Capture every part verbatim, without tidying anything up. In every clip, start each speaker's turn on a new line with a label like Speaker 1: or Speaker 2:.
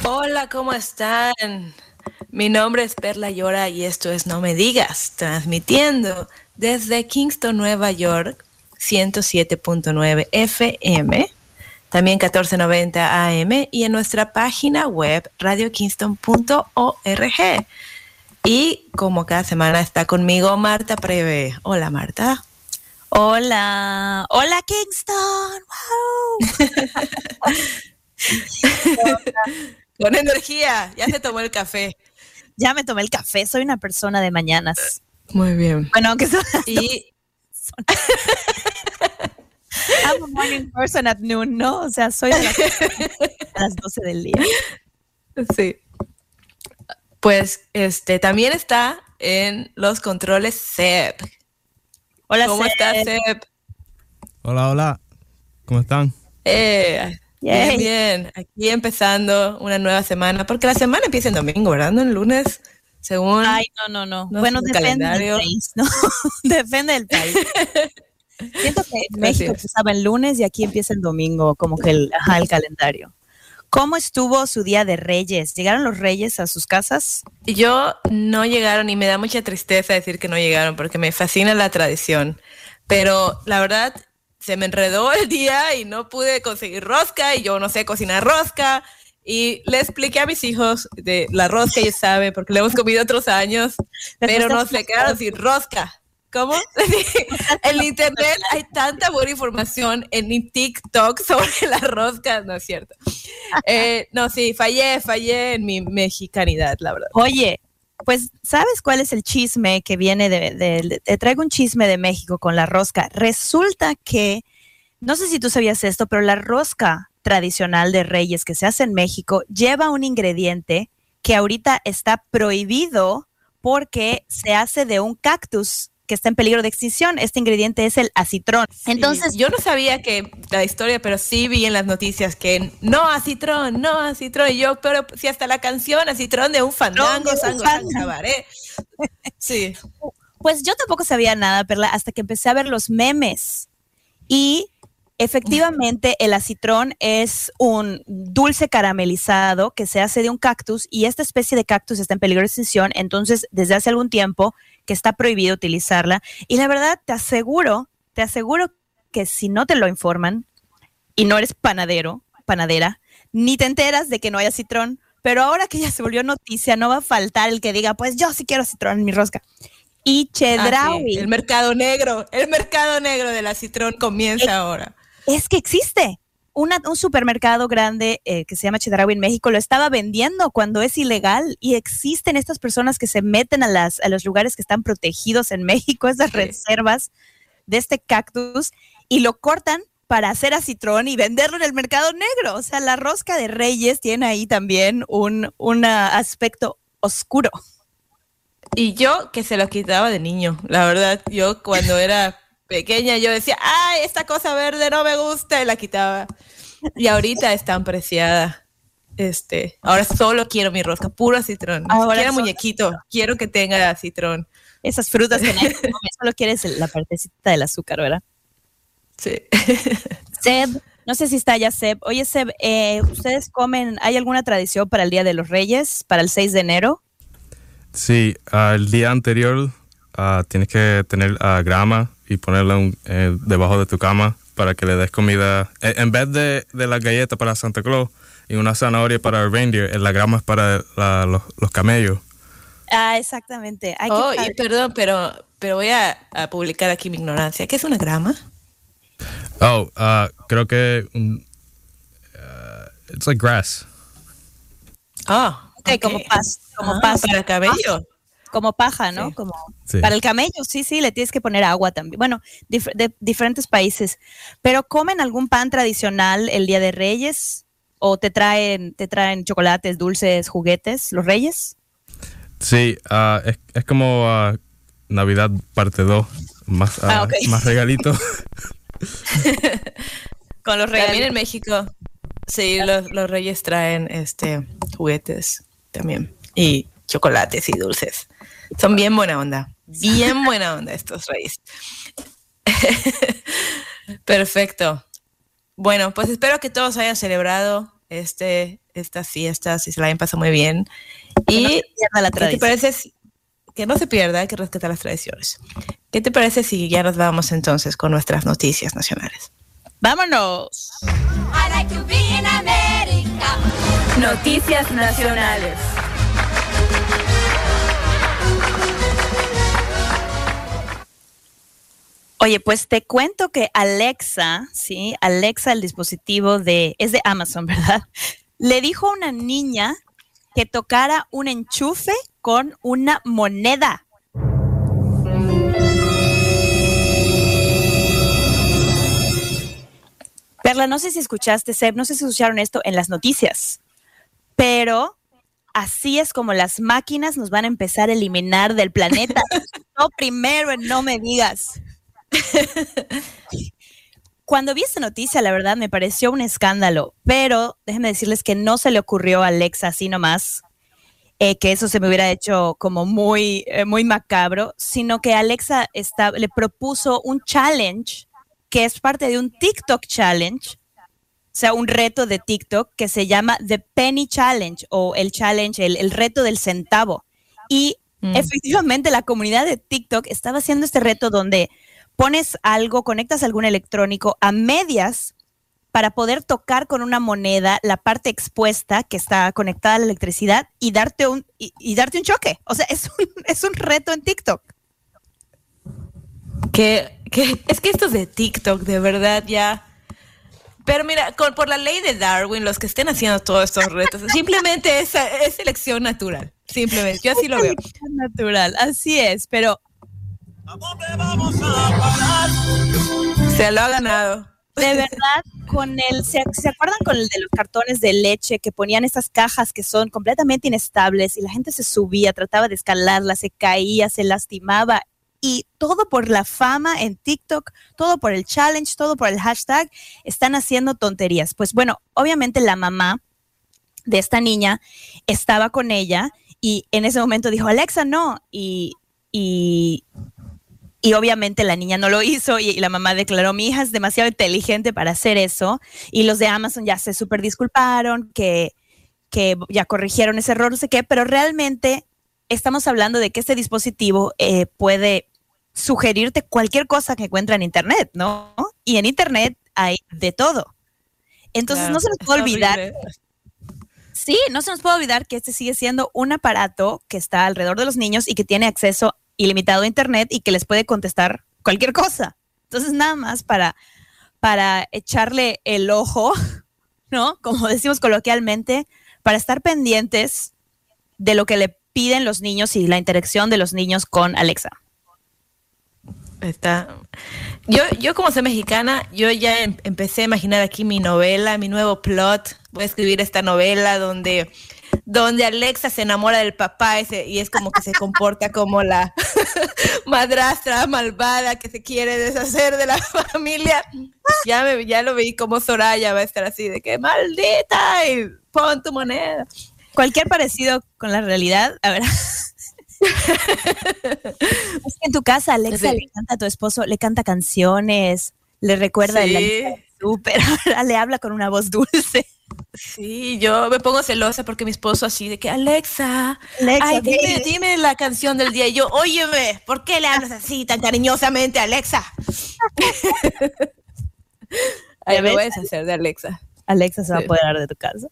Speaker 1: Hola, ¿cómo están? Mi nombre es Perla Llora y esto es No Me Digas, transmitiendo desde Kingston, Nueva York, ciento siete punto nueve F M, también catorce noventa A M y en nuestra página web radio kingston punto org. Y como cada semana está conmigo Marta Preve. Hola, Marta.
Speaker 2: Hola, hola Kingston. Wow.
Speaker 1: Con energía, ya se tomó el café.
Speaker 2: Ya me tomé el café, soy una persona de mañanas.
Speaker 1: Muy bien.
Speaker 2: Bueno, aunque son las
Speaker 1: y
Speaker 2: son... I'm a morning person at noon, ¿no? O sea, soy de las, a las doce del día.
Speaker 1: Sí. Pues este también está en los controles Seb.
Speaker 2: Hola,
Speaker 1: ¿Cómo
Speaker 2: Seb.
Speaker 1: estás, Seb?
Speaker 3: Hola, hola. ¿Cómo están?
Speaker 1: Eh, bien, bien. Aquí empezando una nueva semana, porque la semana empieza en domingo, ¿verdad? No en lunes, según.
Speaker 2: Ay, no, no, no.
Speaker 1: no
Speaker 2: bueno,
Speaker 1: sé,
Speaker 2: depende
Speaker 1: calendario.
Speaker 2: del país, ¿no? Depende del país. Siento que en México
Speaker 1: es.
Speaker 2: empezaba el lunes y aquí empieza el domingo, como que el, ajá, el calendario. ¿Cómo estuvo su día de Reyes? ¿Llegaron los Reyes a sus casas?
Speaker 1: Yo no llegaron y me da mucha tristeza decir que no llegaron porque me fascina la tradición. Pero la verdad, se me enredó el día y no pude conseguir rosca y yo no sé cocinar rosca. Y le expliqué a mis hijos de la rosca, ellos saben, porque le hemos comido otros años, pero nos se quedaron sin rosca. ¿Cómo? En internet hay tanta buena información en TikTok sobre las roscas, no es cierto. Eh, no, sí, fallé, fallé en mi mexicanidad, la verdad.
Speaker 2: Oye, pues, ¿sabes cuál es el chisme que viene de, de, de, te traigo un chisme de México con la rosca? Resulta que, no sé si tú sabías esto, pero la rosca tradicional de Reyes que se hace en México lleva un ingrediente que ahorita está prohibido porque se hace de un cactus que está en peligro de extinción. Este ingrediente es el acitrón. Entonces,
Speaker 1: sí, yo no sabía que la historia, pero sí vi en las noticias que no acitrón, no acitrón. Y yo, pero si hasta la canción acitrón de un fandango,
Speaker 2: no,
Speaker 1: sango, sango, cabaret. Sí.
Speaker 2: Pues yo tampoco sabía nada, Perla, hasta que empecé a ver los memes. Y efectivamente el acitrón es un dulce caramelizado que se hace de un cactus y esta especie de cactus está en peligro de extinción, entonces desde hace algún tiempo que está prohibido utilizarla y la verdad te aseguro, te aseguro que si no te lo informan y no eres panadero, panadera, ni te enteras de que no hay acitrón, pero ahora que ya se volvió noticia no va a faltar el que diga, pues yo sí quiero acitrón en mi rosca. Y Chedraui.
Speaker 1: Ah, sí. El mercado negro, el mercado negro del acitrón comienza
Speaker 2: es,
Speaker 1: ahora.
Speaker 2: Es que existe. Una, un supermercado grande eh, que se llama Chedraui en México lo estaba vendiendo cuando es ilegal y existen estas personas que se meten a, las, a los lugares que están protegidos en México, esas sí. reservas de este cactus y lo cortan para hacer acitrón y venderlo en el mercado negro. O sea, la rosca de Reyes tiene ahí también un, un aspecto oscuro.
Speaker 1: Y yo que se lo quitaba de niño, la verdad, yo cuando era pequeña yo decía, ay, esta cosa verde no me gusta y la quitaba. Y ahorita es tan preciada. Este, ahora solo quiero mi rosca, puro acitrón. Ahora quiero muñequito, citrón. Quiero que tenga acitrón.
Speaker 2: Esas frutas que nadie come, solo quieres la partecita del azúcar, ¿verdad?
Speaker 1: Sí.
Speaker 2: Seb, no sé si está ya Seb. Oye, Seb, eh, ¿ustedes comen, hay alguna tradición para el Día de los Reyes, para el seis de enero?
Speaker 3: Sí, uh, el día anterior uh, tienes que tener uh, grama y ponerla un, eh, debajo de tu cama para que le des comida. Eh, en vez de, de la galleta para Santa Claus y una zanahoria para el reindeer, la grama es para la, los, los camellos.
Speaker 2: Ah, exactamente. Hay
Speaker 1: oh,
Speaker 2: que
Speaker 1: y perdón, pero, pero voy a, a publicar aquí mi ignorancia. ¿Qué es una grama?
Speaker 3: Oh, uh, creo que um, uh, it's like grass.
Speaker 1: Oh,
Speaker 2: okay, okay. como pasto. Como ah, paja,
Speaker 1: para el cabello.
Speaker 2: Paja, como paja, ¿no?
Speaker 1: Sí.
Speaker 2: Como
Speaker 3: sí.
Speaker 2: Para el camello, sí, sí, le tienes que poner agua también. Bueno, dif- de diferentes países. ¿Pero comen algún pan tradicional el Día de Reyes? ¿O te traen, te traen chocolates, dulces, juguetes, los Reyes?
Speaker 3: Sí, uh, es, es como uh, Navidad parte dos, más, uh,
Speaker 2: ah, okay.
Speaker 3: más regalitos.
Speaker 1: Con los regalitos. También en México, sí, los, los Reyes traen este juguetes también. Y chocolates y dulces. Son bien buena onda. Bien buena onda estos Reyes. Perfecto. Bueno, pues espero que todos hayan celebrado este, estas fiestas y se la hayan pasado muy bien.
Speaker 2: Que
Speaker 1: y
Speaker 2: no se pierda la
Speaker 1: ¿qué te
Speaker 2: tradición.
Speaker 1: parece si- que no se pierda, hay que rescatar las tradiciones? ¿Qué te parece si ya nos vamos entonces con nuestras noticias nacionales?
Speaker 2: ¡Vámonos!
Speaker 4: I like to be in America.
Speaker 1: Noticias nacionales.
Speaker 2: Oye, pues te cuento que Alexa, sí, Alexa, el dispositivo de, es de Amazon, ¿verdad? Le dijo a una niña que tocara un enchufe con una moneda. Perla, no sé si escuchaste, Seb, no sé si escucharon esto en las noticias, pero así es como las máquinas nos van a empezar a eliminar del planeta. No primero en No Me Digas. Cuando vi esta noticia, la verdad me pareció un escándalo, pero déjenme decirles que no se le ocurrió a Alexa así nomás, eh, que eso se me hubiera hecho como muy, eh, muy macabro, sino que Alexa está, le propuso un challenge que es parte de un TikTok challenge, o sea, un reto de TikTok que se llama The Penny Challenge o el challenge, el, el reto del centavo. Y mm. efectivamente la comunidad de TikTok estaba haciendo este reto donde pones algo, conectas algún electrónico a medias para poder tocar con una moneda la parte expuesta que está conectada a la electricidad y darte un, y, y darte un choque. O sea, es un, es un reto en TikTok.
Speaker 1: Que, que es que estos de TikTok, de verdad, ya. Pero mira, con, por la ley de Darwin, los que estén haciendo todos estos retos, simplemente es, es selección natural. Simplemente, yo así lo veo.
Speaker 2: Selección natural, así es, pero
Speaker 5: ¿A dónde vamos a parar?
Speaker 1: Se lo ha ganado.
Speaker 2: De verdad, con el, ¿se, ¿se acuerdan con el de los cartones de leche que ponían estas cajas que son completamente inestables y la gente se subía, trataba de escalarla, se caía, se lastimaba? Y todo por la fama en TikTok, todo por el challenge, todo por el hashtag, están haciendo tonterías. Pues bueno, obviamente la mamá de esta niña estaba con ella y en ese momento dijo, Alexa, no. Y, y, y obviamente la niña no lo hizo y, y la mamá declaró, mi hija es demasiado inteligente para hacer eso. Y los de Amazon ya se súper disculparon, que, que ya corrigieron ese error, no sé qué, pero realmente estamos hablando de que este dispositivo eh, puede sugerirte cualquier cosa que encuentra en Internet, ¿no? Y en Internet hay de todo. Entonces claro, no se nos puede olvidar. Horrible. Sí, no se nos puede olvidar que este sigue siendo un aparato que está alrededor de los niños y que tiene acceso ilimitado a Internet y que les puede contestar cualquier cosa. Entonces nada más para, para echarle el ojo, ¿no? Como decimos coloquialmente, para estar pendientes de lo que le piden los niños y la interacción de los niños con Alexa.
Speaker 1: Está. Yo, yo como soy mexicana, yo ya em- empecé a imaginar aquí mi novela, mi nuevo plot. Voy a escribir esta novela donde, donde Alexa se enamora del papá ese, y es como que se comporta como la madrastra malvada que se quiere deshacer de la familia. Ya, me, ya lo vi como Soraya va a estar así de que maldita y pon tu moneda.
Speaker 2: Cualquier parecido con la realidad, a ver. Es que en tu casa Alexa sí. Le canta a tu esposo, le canta canciones, le recuerda sí. El súper, le habla con una voz dulce.
Speaker 1: Sí, yo me pongo celosa porque mi esposo así de que Alexa, Alexa ay, dime, dime la canción del día. Y yo, óyeme, ¿por qué le hablas así tan cariñosamente a Alexa? Ay, me voy a deshacer de Alexa.
Speaker 2: Alexa se va sí. a apoderar de tu casa.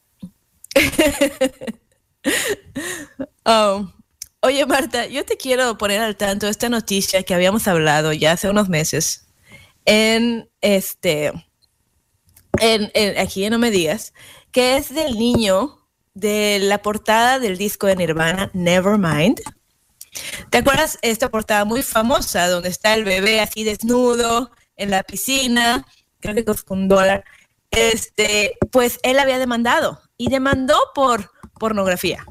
Speaker 1: Oh. Oye, Marta, yo te quiero poner al tanto de esta noticia que habíamos hablado ya hace unos meses en este en, en aquí en No Me Digas, que es del niño de la portada del disco de Nirvana, Nevermind. ¿Te acuerdas esta portada muy famosa donde está el bebé así desnudo en la piscina? Creo que costó un dólar. Este, pues él había demandado y demandó por pornografía.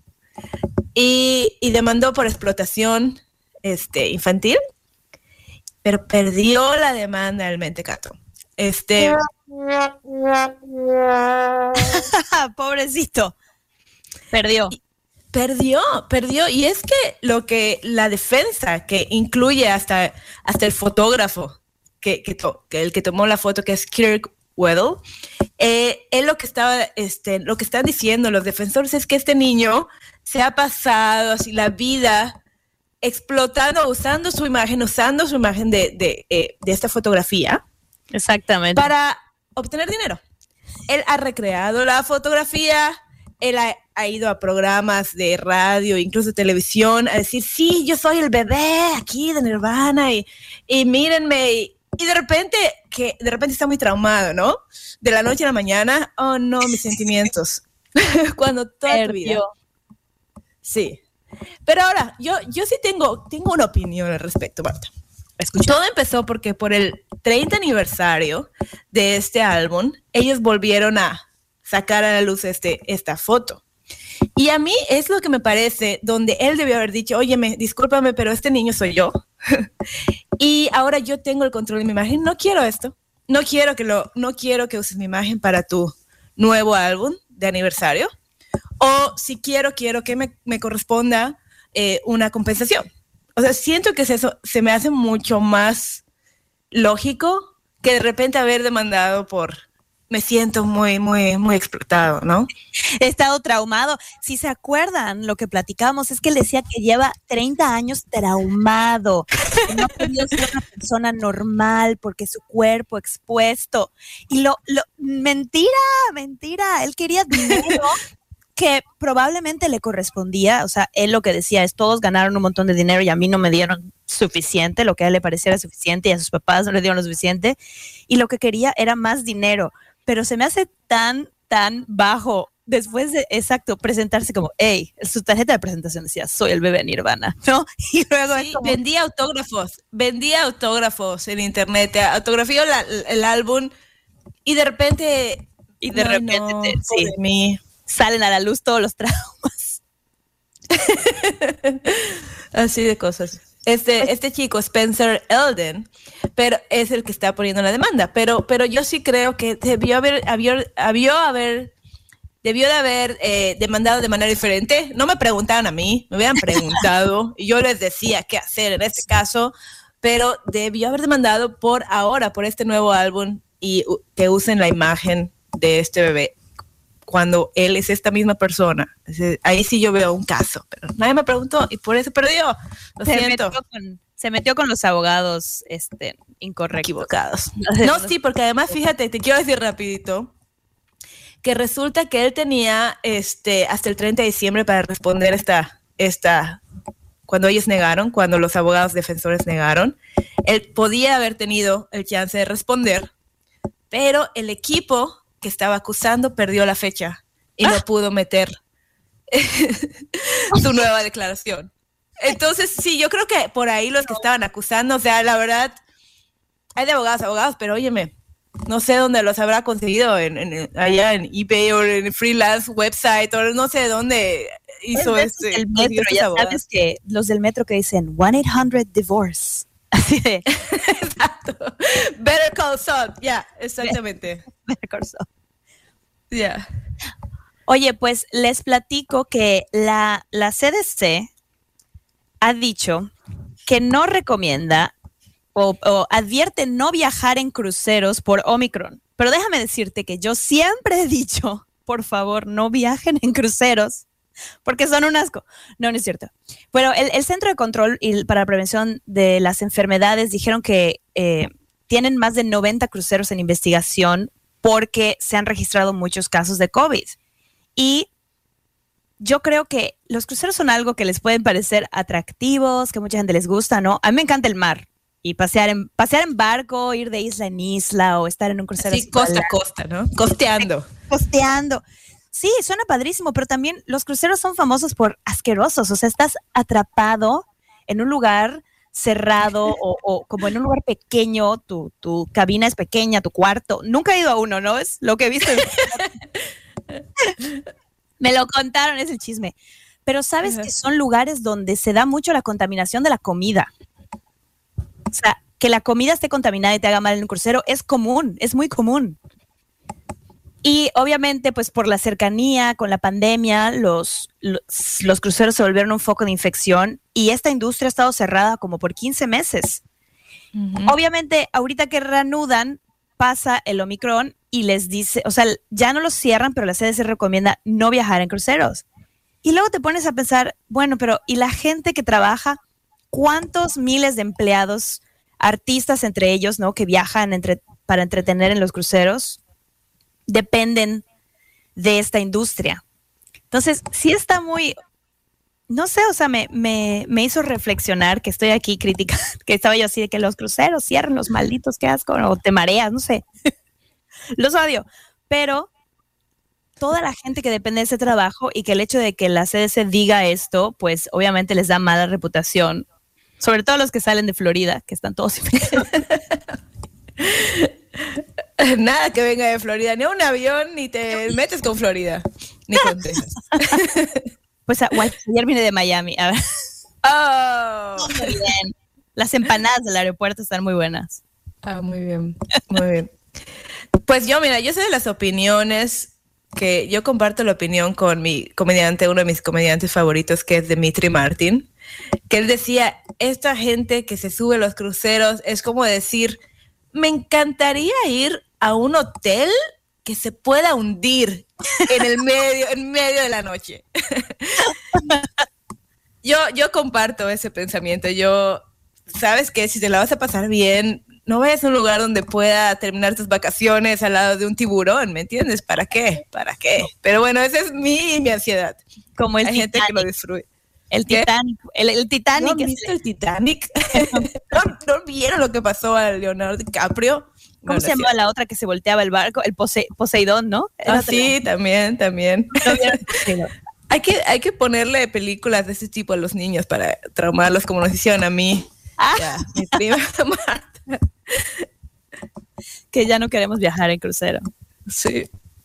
Speaker 1: Y, y demandó por explotación este, infantil, pero perdió la demanda del mentecato. Este,
Speaker 2: pobrecito, perdió.
Speaker 1: Perdió, perdió. Y es que lo que la defensa, que incluye hasta, hasta el fotógrafo, que, que, to, que el que tomó la foto, que es Kirk Weddle, Eh, él lo que estaba, este, lo que están diciendo los defensores es que este niño se ha pasado así la vida explotando, usando su imagen, usando su imagen de, de, eh, de esta fotografía.
Speaker 2: Exactamente.
Speaker 1: Para obtener dinero. Él ha recreado la fotografía, él ha, ha ido a programas de radio, incluso televisión, a decir, sí, yo soy el bebé aquí de Nirvana y, y mírenme. Y, y de repente, que de repente está muy traumado, ¿no? De la noche a la mañana, oh no, mis sentimientos. Cuando toda tu vida. Sí. Pero ahora, yo, yo sí tengo, tengo una opinión al respecto, Marta.
Speaker 2: Escucha.
Speaker 1: Todo empezó porque por el treinta aniversario de este álbum, ellos volvieron a sacar a la luz este, esta foto. Y a mí es lo que me parece, donde él debió haber dicho, óyeme, discúlpame, pero este niño soy yo. Y ahora yo tengo el control de mi imagen. No quiero esto. No quiero que lo, no quiero que uses mi imagen para tu nuevo álbum de aniversario. O si quiero, quiero que me, me corresponda eh, una compensación. O sea, siento que es eso, se me hace mucho más lógico que de repente haber demandado por me siento muy, muy, muy explotado, ¿no?
Speaker 2: He estado traumado. Si se acuerdan, lo que platicábamos es que él decía que lleva treinta años traumado, que no ha podido ser una persona normal porque su cuerpo expuesto. Y lo, lo, mentira, mentira, él quería dinero que probablemente le correspondía. O sea, él lo que decía es, todos ganaron un montón de dinero y a mí no me dieron suficiente, lo que a él le pareciera suficiente y a sus papás no le dieron lo suficiente. Y lo que quería era más dinero. Pero se me hace tan, tan bajo después de, exacto, presentarse como, hey, su tarjeta de presentación decía, soy el bebé Nirvana, ¿no? Y luego
Speaker 1: sí, como... vendía autógrafos, vendía autógrafos en internet, autografió la, el álbum y de repente...
Speaker 2: Y de repente, no, te, sí, mí. salen a la luz todos los traumas.
Speaker 1: Así de cosas. Este, este chico, Spencer Elden, pero es el que está poniendo la demanda. Pero, pero yo sí creo que debió haber, haber, habió haber, debió de haber eh, demandado de manera diferente. No me preguntaron a mí, me hubieran preguntado y yo les decía qué hacer en este caso, pero debió haber demandado por ahora, por este nuevo álbum y uh, que usen la imagen de este bebé cuando él es esta misma persona. Ahí sí yo veo un caso, pero nadie me preguntó y por eso perdió. Lo
Speaker 2: se
Speaker 1: siento.
Speaker 2: Metió con, se metió con los abogados este, incorrectos.
Speaker 1: Equivocados. No, sí, porque además, fíjate, te quiero decir rapidito, que resulta que él tenía este, hasta el treinta de diciembre para responder esta, esta, cuando ellos negaron, cuando los abogados defensores negaron, él podía haber tenido el chance de responder, pero el equipo que estaba acusando perdió la fecha y ah. no pudo meter su nueva declaración. Entonces, sí, yo creo que por ahí los que estaban acusando, o sea, la verdad, hay de abogados, abogados, pero óyeme, no sé dónde los habrá conseguido, en, en, allá en eBay o en freelance website, o no sé dónde hizo este.
Speaker 2: El metro, ya sabes que los del metro que dicen one eight hundred divorce. Así de.
Speaker 1: Exacto. Better Call Saul, ya, yeah, exactamente.
Speaker 2: Better Call Saul.
Speaker 1: Ya. Yeah.
Speaker 2: Oye, pues les platico que la, la C D C ha dicho que no recomienda o, o advierte no viajar en cruceros por Omicron. Pero déjame decirte que yo siempre he dicho, por favor, no viajen en cruceros porque son un asco. No, no es cierto. Pero el, el Centro de Control y para la Prevención de las Enfermedades dijeron que eh, tienen más de noventa cruceros en investigación porque se han registrado muchos casos de COVID. Y yo creo que los cruceros son algo que les pueden parecer atractivos, que mucha gente les gusta, ¿no? A mí me encanta el mar y pasear en, pasear en barco, ir de isla en isla o estar en un crucero.
Speaker 1: Sí, costa a costa, ¿no? Costeando.
Speaker 2: Costeando. Sí, suena padrísimo, pero también los cruceros son famosos por asquerosos. O sea, estás atrapado en un lugar cerrado o, o como en un lugar pequeño, tu, tu cabina es pequeña, tu cuarto. Nunca he ido a uno, ¿no? Es lo que he visto. Me lo contaron, es el chisme. Pero sabes uh-huh. que son lugares donde se da mucho la contaminación de la comida. O sea, que la comida esté contaminada y te haga mal en un crucero es común, es muy común. Y obviamente, pues por la cercanía con la pandemia, los, los, los cruceros se volvieron un foco de infección y esta industria ha estado cerrada como por quince meses. Uh-huh. Obviamente, ahorita que reanudan, pasa el Omicron y les dice, o sea, ya no los cierran, pero la C D C recomienda no viajar en cruceros. Y luego te pones a pensar, bueno, pero ¿y la gente que trabaja? ¿Cuántos miles de empleados, artistas entre ellos, ¿no? Que viajan entre, para entretener en los cruceros, dependen de esta industria? Entonces, sí está muy, no sé, o sea, me, me, me hizo reflexionar que estoy aquí criticando, que estaba yo así de que los cruceros cierren, los malditos, qué asco, o te mareas, no sé. Los odio, pero toda la gente que depende de ese trabajo y que el hecho de que la C D C diga esto, pues obviamente les da mala reputación, sobre todo los que salen de Florida, que están todos
Speaker 1: Nada que venga de Florida, ni a un avión, ni te metes con Florida, ni con Texas.
Speaker 2: Pues ayer vine de Miami. A ver.
Speaker 1: Oh.
Speaker 2: Muy bien. Las empanadas del aeropuerto están muy buenas.
Speaker 1: Ah, muy bien, muy bien. Pues yo, mira, yo soy de las opiniones que yo comparto la opinión con mi comediante, uno de mis comediantes favoritos, que es Demetri Martin, que él decía, esta gente que se sube a los cruceros es como decir, me encantaría ir a un hotel que se pueda hundir en el medio, en medio de la noche. yo, yo comparto ese pensamiento. Yo, ¿sabes qué? Si te la vas a pasar bien, no vayas a un lugar donde pueda terminar tus vacaciones al lado de un tiburón, ¿me entiendes? ¿Para qué? ¿Para qué? Pero bueno, esa es mi, mi ansiedad.
Speaker 2: Como el
Speaker 1: Hay
Speaker 2: Titanic.
Speaker 1: gente que lo destruye.
Speaker 2: El
Speaker 1: ¿Qué?
Speaker 2: Titanic. El, el Titanic.
Speaker 1: ¿No han visto el Titanic? ¿No, ¿No vieron lo que pasó a Leonardo DiCaprio?
Speaker 2: ¿Cómo
Speaker 1: No,
Speaker 2: se
Speaker 1: no es
Speaker 2: llamaba
Speaker 1: cierto.
Speaker 2: la otra que se volteaba el barco? El Pose- Poseidón, ¿no? Era
Speaker 1: Ah,
Speaker 2: otra-
Speaker 1: sí, también, también.
Speaker 2: ¿No vieron Poseidón?
Speaker 1: Hay que, hay que ponerle películas de ese tipo a los niños para traumarlos como nos hicieron a mí.
Speaker 2: Ah.
Speaker 1: Ya, mi prima Marta.
Speaker 2: Que ya no queremos viajar en crucero.
Speaker 1: Sí.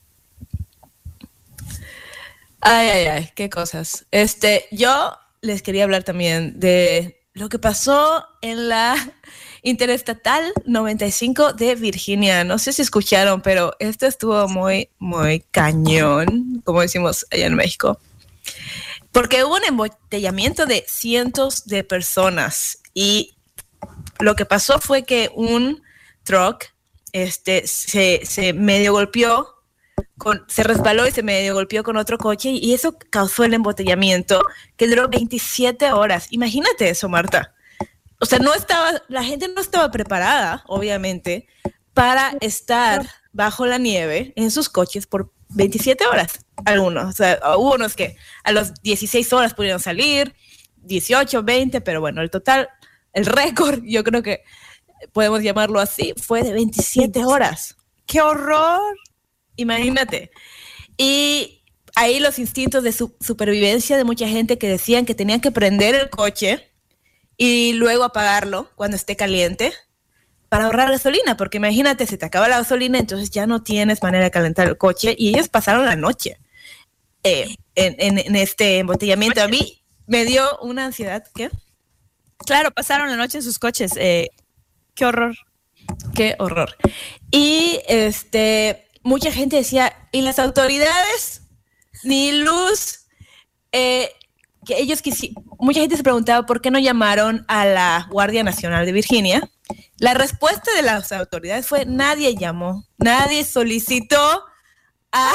Speaker 1: Ay, ay, ay, qué cosas. Este, yo les quería hablar también de lo que pasó en la Interestatal noventa y cinco de Virginia. No sé si escucharon, pero esto estuvo muy, muy cañón, como decimos allá en México. Porque hubo un embotellamiento de cientos de personas y lo que pasó fue que un truck este, se, se medio golpeó, con, se resbaló y se medio golpeó con otro coche y eso causó el embotellamiento que duró veintisiete horas. Imagínate eso, Marta. O sea, no estaba, la gente no estaba preparada, obviamente, para estar bajo la nieve en sus coches por veintisiete horas. Algunos, o sea, hubo unos que a las dieciséis horas pudieron salir, dieciocho, veinte, pero bueno, el total, el récord, yo creo que podemos llamarlo así, fue de veintisiete horas.
Speaker 2: ¡Qué horror!
Speaker 1: Imagínate. Y ahí los instintos de su supervivencia de mucha gente que decían que tenían que prender el coche y luego apagarlo cuando esté caliente para ahorrar gasolina, porque imagínate, se te acaba la gasolina, entonces ya no tienes manera de calentar el coche y ellos pasaron la noche eh, en, en, en este embotellamiento. A mí me dio una ansiedad. ¿Qué?
Speaker 2: Claro, pasaron la noche en sus coches. Eh, ¡Qué horror!
Speaker 1: Qué horror. Y este, mucha gente decía, ¿y las autoridades? Ni luz. Eh, que ellos quisi- mucha gente se preguntaba por qué no llamaron a la Guardia Nacional de Virginia. La respuesta de las autoridades fue, nadie llamó, nadie solicitó a...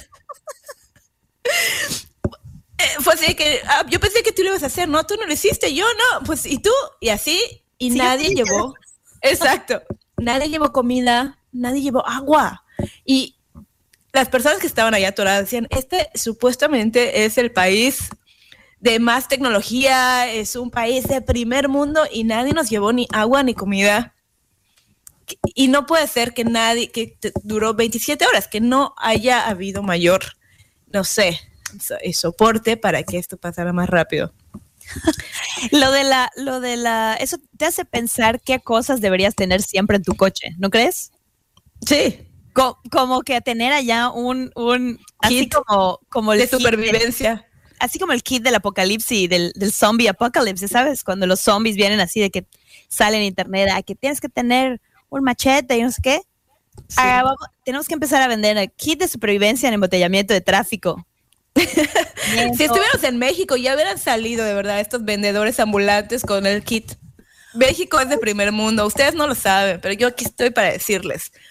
Speaker 1: Eh, fue así que, ah, yo pensé que tú lo ibas a hacer, no, tú no lo hiciste, yo no, pues, ¿y tú? Y así, y
Speaker 2: Sí,
Speaker 1: nadie
Speaker 2: yo sí.
Speaker 1: llevó, exacto, nadie llevó comida, nadie llevó agua, y las personas que estaban allá atoradas decían, este supuestamente es el país de más tecnología, es un país de primer mundo, y nadie nos llevó ni agua ni comida, y no puede ser que nadie, que te- duró veintisiete horas, que no haya habido mayor, no sé, so- eh, soporte para que esto pasara más rápido.
Speaker 2: Lo de la, lo de la, eso te hace pensar qué cosas deberías tener siempre en tu coche, ¿no crees?
Speaker 1: Sí,
Speaker 2: Co- como que tener allá un, un así
Speaker 1: Kit
Speaker 2: como, como el
Speaker 1: de
Speaker 2: kit de-
Speaker 1: supervivencia.
Speaker 2: así como el kit del apocalipsis, del, del zombie apocalypse, ¿sabes? Cuando los zombies vienen así de que salen en internet, ah, que tienes que tener un machete y no sé qué.
Speaker 1: Sí.
Speaker 2: Ah, vamos- tenemos que empezar a vender el kit de supervivencia en embotellamiento de tráfico.
Speaker 1: Si estuviéramos en México, ya hubieran salido de verdad estos vendedores ambulantes con el kit. México es de primer mundo, ustedes no lo saben, pero yo aquí estoy para decirles.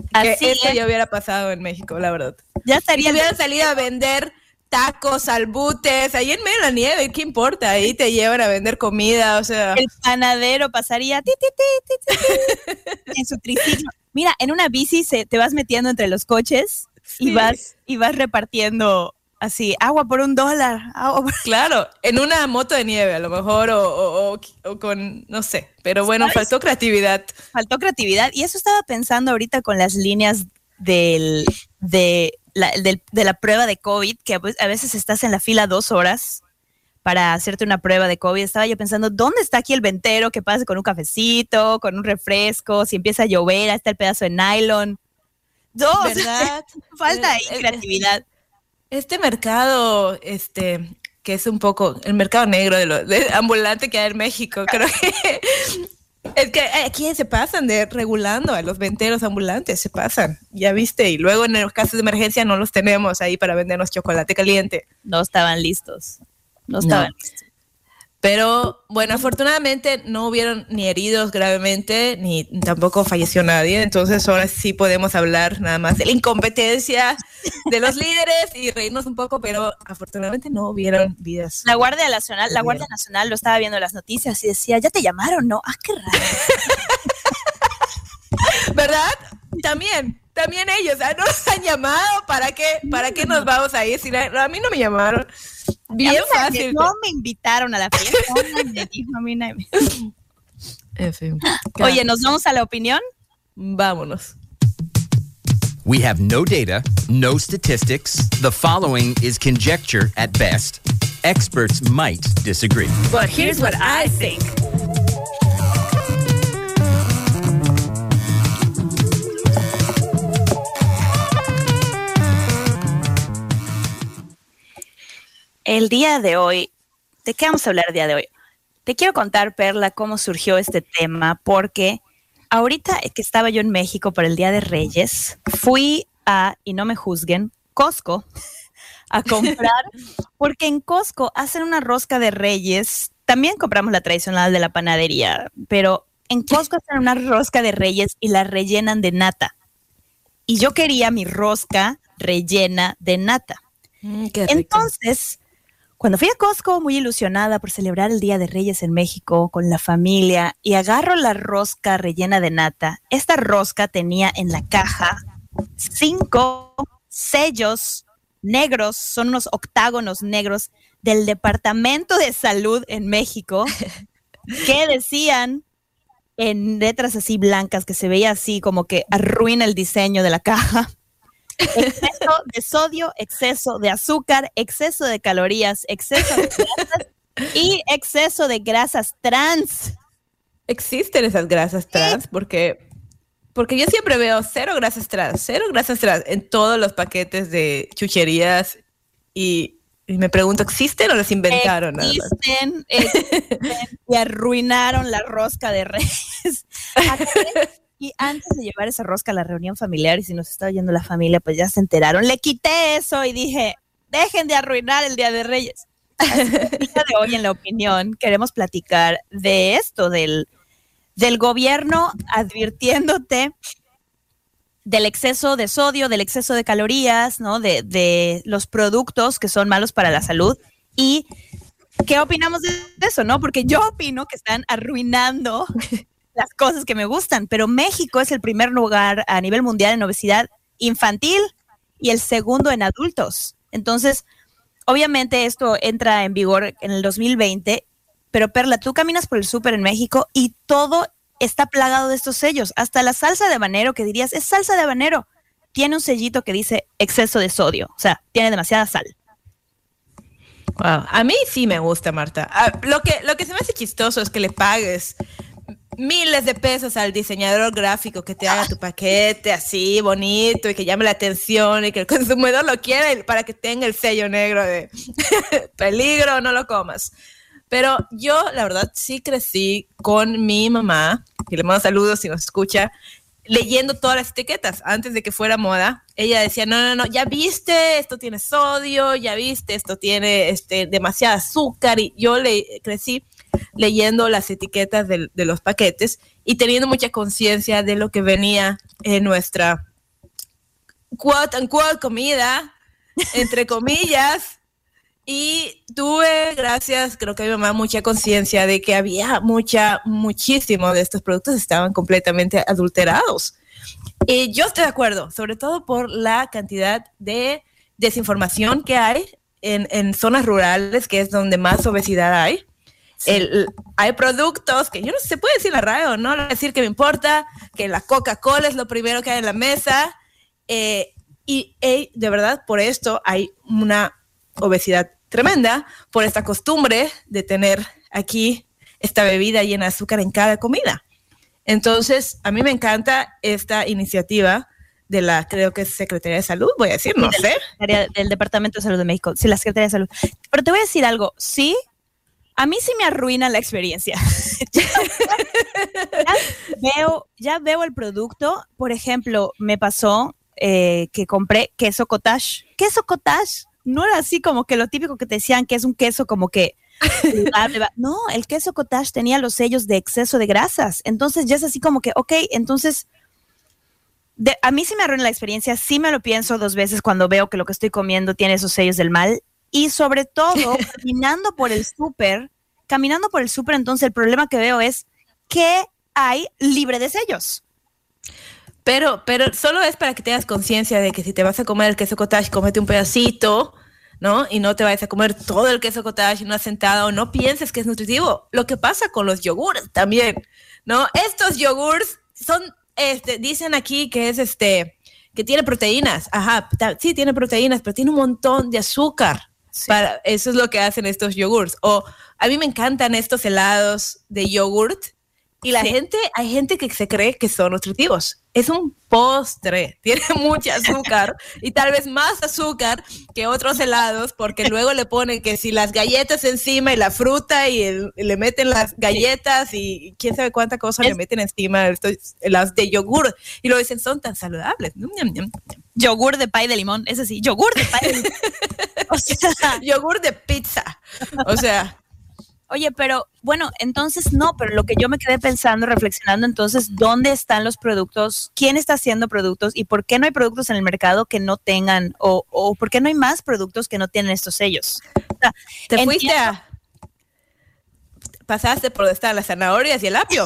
Speaker 1: que
Speaker 2: Así
Speaker 1: esto
Speaker 2: es.
Speaker 1: ya hubiera pasado en México, la verdad.
Speaker 2: Ya
Speaker 1: Y
Speaker 2: estaría
Speaker 1: que hubieran salido a vender tacos, albutes, ahí en medio de la nieve, ¿qué importa? Ahí te llevan a vender comida, o sea...
Speaker 2: el panadero pasaría ti, ti, ti, ti, ti, ti, en su triciclo. Mira, en una bici se, te vas metiendo entre los coches y
Speaker 1: Sí.
Speaker 2: vas y vas repartiendo así, agua por un dólar. Agua por...
Speaker 1: Claro, en una moto de nieve a lo mejor, o, o- o- o con, no sé, pero bueno,
Speaker 2: ¿Sabes?
Speaker 1: faltó creatividad.
Speaker 2: Faltó creatividad. Y eso estaba pensando ahorita con las líneas del, de, la, del- de la prueba de COVID, que a ve- a veces estás en la fila dos horas para hacerte una prueba de COVID. Estaba yo pensando, ¿dónde está aquí el ventero que pase con un cafecito, con un refresco? Si empieza a llover, ahí está el pedazo de nylon. No, o sea,
Speaker 1: ¿Verdad?
Speaker 2: falta ahí
Speaker 1: Eh, eh,
Speaker 2: creatividad.
Speaker 1: Este mercado, este, que es un poco el mercado negro de lo de ambulante que hay en México, creo que es que aquí se pasan de regulando a los venteros ambulantes, se pasan, ya viste, y luego en los casos de emergencia no los tenemos ahí para vendernos chocolate caliente.
Speaker 2: No estaban listos. No
Speaker 1: No.
Speaker 2: estaban listos.
Speaker 1: Pero bueno, afortunadamente no hubieron ni heridos gravemente, ni tampoco falleció nadie. Entonces ahora sí podemos hablar nada más de la incompetencia de los líderes y reírnos un poco, pero afortunadamente no hubieron vidas.
Speaker 2: La Guardia Nacional, la Guardia Nacional lo estaba viendo en las noticias y decía, ¿ya te llamaron? No, ah, qué raro.
Speaker 1: ¿Verdad? También, también ellos, ¿ah? No nos han llamado, ¿para qué? ¿Para qué nos vamos a ir? Si la- a mí no me llamaron. Bien
Speaker 2: A mí nadie-
Speaker 1: fácil.
Speaker 2: No me invitaron a la fiesta. Nadie me dijo, a mí nadie me-
Speaker 1: En fin.
Speaker 2: Oye, ¿nos vamos a la opinión?
Speaker 1: Vámonos.
Speaker 6: We have no data, no statistics. The following is conjecture at best. Experts might disagree.
Speaker 1: But here's what I think.
Speaker 2: El día de hoy, ¿de qué vamos a hablar el día de hoy? Te quiero contar, Perla, cómo surgió este tema, porque ahorita que estaba yo en México para el Día de Reyes, fui a, y no me juzguen, Costco, a comprar, porque en Costco hacen una rosca de Reyes, también compramos la tradicional de la panadería, pero en Costco hacen una rosca de Reyes y la rellenan de nata. Y yo quería mi rosca rellena de nata.
Speaker 1: Mm, qué rico.
Speaker 2: Entonces, cuando fui a Costco muy ilusionada por celebrar el Día de Reyes en México con la familia y agarro la rosca rellena de nata, esta rosca tenía en la caja cinco sellos negros, son unos octágonos negros del Departamento de Salud en México que decían en letras así blancas que se veía así como que arruina el diseño de la caja. Exceso de sodio, exceso de azúcar, exceso de calorías, exceso de grasas y exceso de grasas trans.
Speaker 1: Existen esas grasas trans porque, porque yo siempre veo cero grasas trans, cero grasas trans en todos los paquetes de chucherías y, y me pregunto, ¿existen o las inventaron? nada más?
Speaker 2: Existen, existen y arruinaron la rosca de Reyes. Y antes de llevar esa rosca a la reunión familiar, y si nos está oyendo la familia, pues ya se enteraron, le quité eso y dije, dejen de arruinar el Día de Reyes. Así que el día de hoy, en la opinión, queremos platicar de esto, del, del gobierno advirtiéndote del exceso de sodio, del exceso de calorías, ¿no? De, de los productos que son malos para la salud. Y ¿qué opinamos de eso, no? Porque yo opino que están arruinando las cosas que me gustan, pero México es el primer lugar a nivel mundial en obesidad infantil y el segundo en adultos. Entonces, obviamente esto entra en vigor en el dos mil veinte, pero Perla, tú caminas por el súper en México y todo está plagado de estos sellos. Hasta la salsa de habanero, que dirías, es salsa de habanero, tiene un sellito que dice exceso de sodio, o sea, tiene demasiada sal.
Speaker 1: Wow. A mí sí me gusta, Marta. Ah, lo que, lo que se me hace chistoso es que le pagues miles de pesos al diseñador gráfico que te haga tu paquete así bonito y que llame la atención y que el consumidor lo quiera y para que tenga el sello negro de peligro, no lo comas. Pero yo, la verdad, sí crecí con mi mamá, y le mando saludos si nos escucha, leyendo todas las etiquetas antes de que fuera moda. Ella decía, no, no, no, ya viste, esto tiene sodio, ya viste, esto tiene este, demasiado azúcar. Y yo le crecí leyendo las etiquetas de, de los paquetes y teniendo mucha conciencia de lo que venía en nuestra quote unquote comida, entre comillas, y tuve, gracias, creo que a mi mamá, mucha conciencia de que había mucha, muchísimo de estos productos estaban completamente adulterados. Y yo estoy de acuerdo, sobre todo por la cantidad de desinformación que hay en, en zonas rurales, que es donde más obesidad hay. Sí. El, hay productos que yo no sé, se puede decir la radio, no decir que me importa, que la Coca-Cola es lo primero que hay en la mesa, eh, y eh, de verdad por esto hay una obesidad tremenda, por esta costumbre de tener aquí esta bebida llena de azúcar en cada comida. Entonces, a mí me encanta esta iniciativa de la, creo que es Secretaría de Salud, voy a decir, no
Speaker 2: del,
Speaker 1: sé.
Speaker 2: Del Departamento de Salud de México, sí, la Secretaría de Salud. Pero te voy a decir algo, sí, a mí sí me arruina la experiencia. ya, ya, veo, ya veo el producto, por ejemplo, me pasó eh, que compré queso cottage. Queso cottage no era así como que lo típico que te decían que es un queso como que no, el queso cottage tenía los sellos de exceso de grasas, entonces ya es así como que, ok, entonces de, a mí sí me arruina la experiencia, sí me lo pienso dos veces cuando veo que lo que estoy comiendo tiene esos sellos del mal, y sobre todo caminando por el súper, caminando por el súper, entonces el problema que veo es que hay libre de sellos.
Speaker 1: Pero, pero solo es para que tengas conciencia de que si te vas a comer el queso cottage, cómete un pedacito, ¿no? Y no te vayas a comer todo el queso cottage en una sentada, o no pienses que es nutritivo. Lo que pasa con los yogures también, ¿no? Estos yogures son, este, dicen aquí que es este, que tiene proteínas. Ajá, sí tiene proteínas, pero tiene un montón de azúcar. Sí. Para, eso es lo que hacen estos yogures. O a mí me encantan estos helados de yogurt. Y la sí. gente, hay gente que se cree que son nutritivos. Es un postre, tiene mucho azúcar y tal vez más azúcar que otros helados, porque luego le ponen que si las galletas encima y la fruta y, el, y le meten las galletas y quién sabe cuánta cosa es, le meten encima estos helados de yogur y lo dicen son tan saludables.
Speaker 2: Yogur de pay de limón, ese sí, yogur de pay de limón.
Speaker 1: O sea, yogur de pizza. O sea...
Speaker 2: Oye, pero bueno, entonces no, pero lo que yo me quedé pensando, reflexionando, entonces, ¿dónde están los productos? ¿Quién está haciendo productos? ¿Y por qué no hay productos en el mercado que no tengan, o, o por qué no hay más productos que no tienen estos sellos? O sea,
Speaker 1: Te entiendo. fuiste a... Pasaste por donde están las zanahorias y el apio.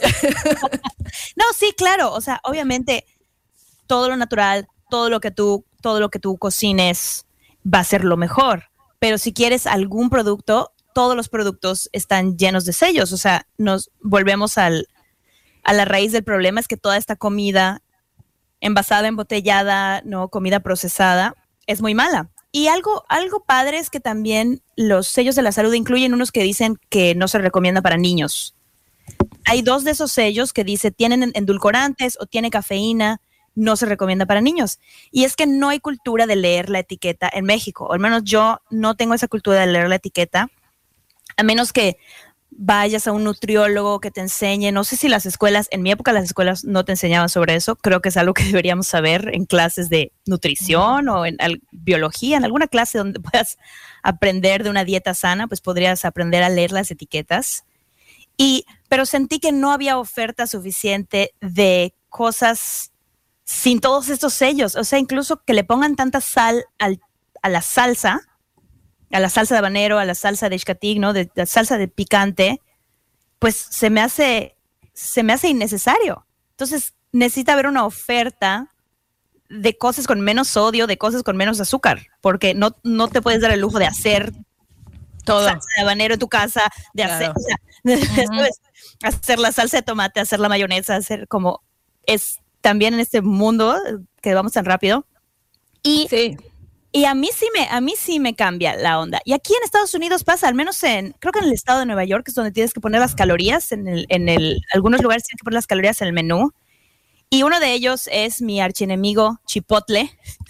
Speaker 2: No, sí, claro, o sea, obviamente, todo lo natural, todo lo que tú, todo lo que tú cocines va a ser lo mejor, pero si quieres algún producto, todos los productos están llenos de sellos, o sea, nos volvemos al, a la raíz del problema, es que toda esta comida envasada, embotellada, no, comida procesada, es muy mala. Y algo, algo padre es que también los sellos de la salud incluyen unos que dicen que no se recomienda para niños. Hay dos de esos sellos que dice tienen endulcorantes o tiene cafeína, no se recomienda para niños. Y es que no hay cultura de leer la etiqueta en México, o al menos yo no tengo esa cultura de leer la etiqueta. A menos que vayas a un nutriólogo que te enseñe, no sé si las escuelas, en mi época las escuelas no te enseñaban sobre eso, creo que es algo que deberíamos saber en clases de nutrición o en al, biología, en alguna clase donde puedas aprender de una dieta sana, pues podrías aprender a leer las etiquetas. Y, pero sentí que no había oferta suficiente de cosas sin todos estos sellos, o sea, incluso que le pongan tanta sal al, a la salsa, a la salsa de habanero, a la salsa de xcatig, ¿no? De la salsa de picante, pues se me hace, se me hace innecesario. Entonces, necesita haber una oferta de cosas con menos sodio, de cosas con menos azúcar, porque no, no te puedes dar el lujo de hacer todo salsa de habanero en tu casa, de claro. hacer, o sea, uh-huh. hacer la salsa de tomate, hacer la mayonesa, hacer como es también en este mundo que vamos tan rápido. Y
Speaker 1: sí.
Speaker 2: Y a mí sí me, a mí sí me cambia la onda. Y aquí en Estados Unidos pasa, al menos en, creo que en el estado de Nueva York es donde tienes que poner las calorías, en el, en el, algunos lugares tienes que poner las calorías en el menú. Y uno de ellos es mi archienemigo Chipotle.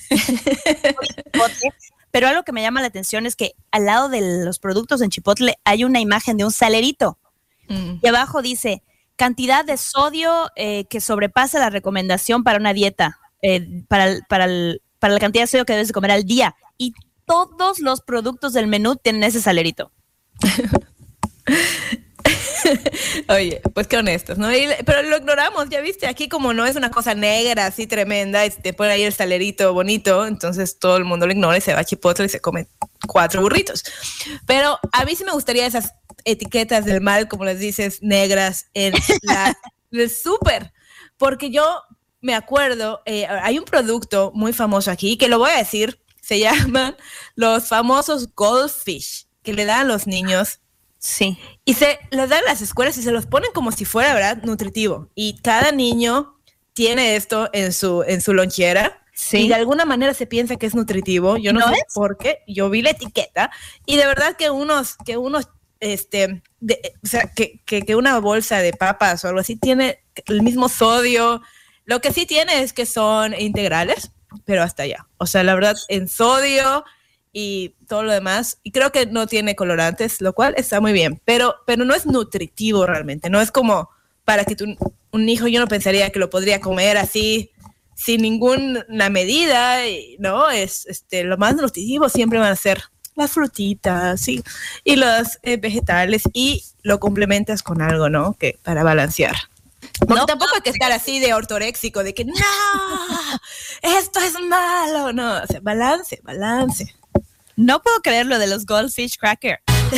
Speaker 2: Chipotle. Pero algo que me llama la atención es que al lado de los productos en Chipotle hay una imagen de un salerito. Mm. Y abajo dice, cantidad de sodio eh, que sobrepasa la recomendación para una dieta, eh, para, el, para el para la cantidad de sodio que debes de comer al día. Y todos los productos del menú tienen ese salerito.
Speaker 1: Oye, pues qué honestos, ¿no? Y, pero lo ignoramos, ya viste, aquí como no es una cosa negra así tremenda, y te pone ahí el salerito bonito, entonces todo el mundo lo ignora y se va a Chipotle y se come cuatro burritos. Pero a mí sí me gustaría esas etiquetas del mal, como les dices, negras en la, el súper, porque yo me acuerdo, eh, hay un producto muy famoso aquí, que lo voy a decir, se llaman los famosos Goldfish, que le dan a los niños.
Speaker 2: Sí.
Speaker 1: Y se los dan a las escuelas y se los ponen como si fuera, ¿verdad?, nutritivo. Y cada niño tiene esto en su, en su lonchera.
Speaker 2: Sí.
Speaker 1: Y de alguna manera se piensa que es nutritivo. Yo no,
Speaker 2: ¿No
Speaker 1: sé
Speaker 2: es?
Speaker 1: por qué. Yo vi la etiqueta. Y de verdad que unos, que unos, este, de, o sea, que, que, que una bolsa de papas o algo así tiene el mismo sodio. Lo que sí tiene es que son integrales, pero hasta allá. O sea, la verdad, en sodio y todo lo demás, y creo que no tiene colorantes, lo cual está muy bien, pero, pero no es nutritivo realmente, no es como para que tu, un hijo, yo no pensaría que lo podría comer así, sin ninguna medida, ¿no? Es, este, lo más nutritivo siempre van a ser las frutitas, ¿sí? Y los eh, vegetales, y lo complementas con algo, ¿no? Que para balancear. Porque
Speaker 2: No,
Speaker 1: tampoco hay que estar así de ortoréxico, de que no, esto es malo, no, o sea, balance, balance.
Speaker 2: No puedo creer lo de los Goldfish Cracker.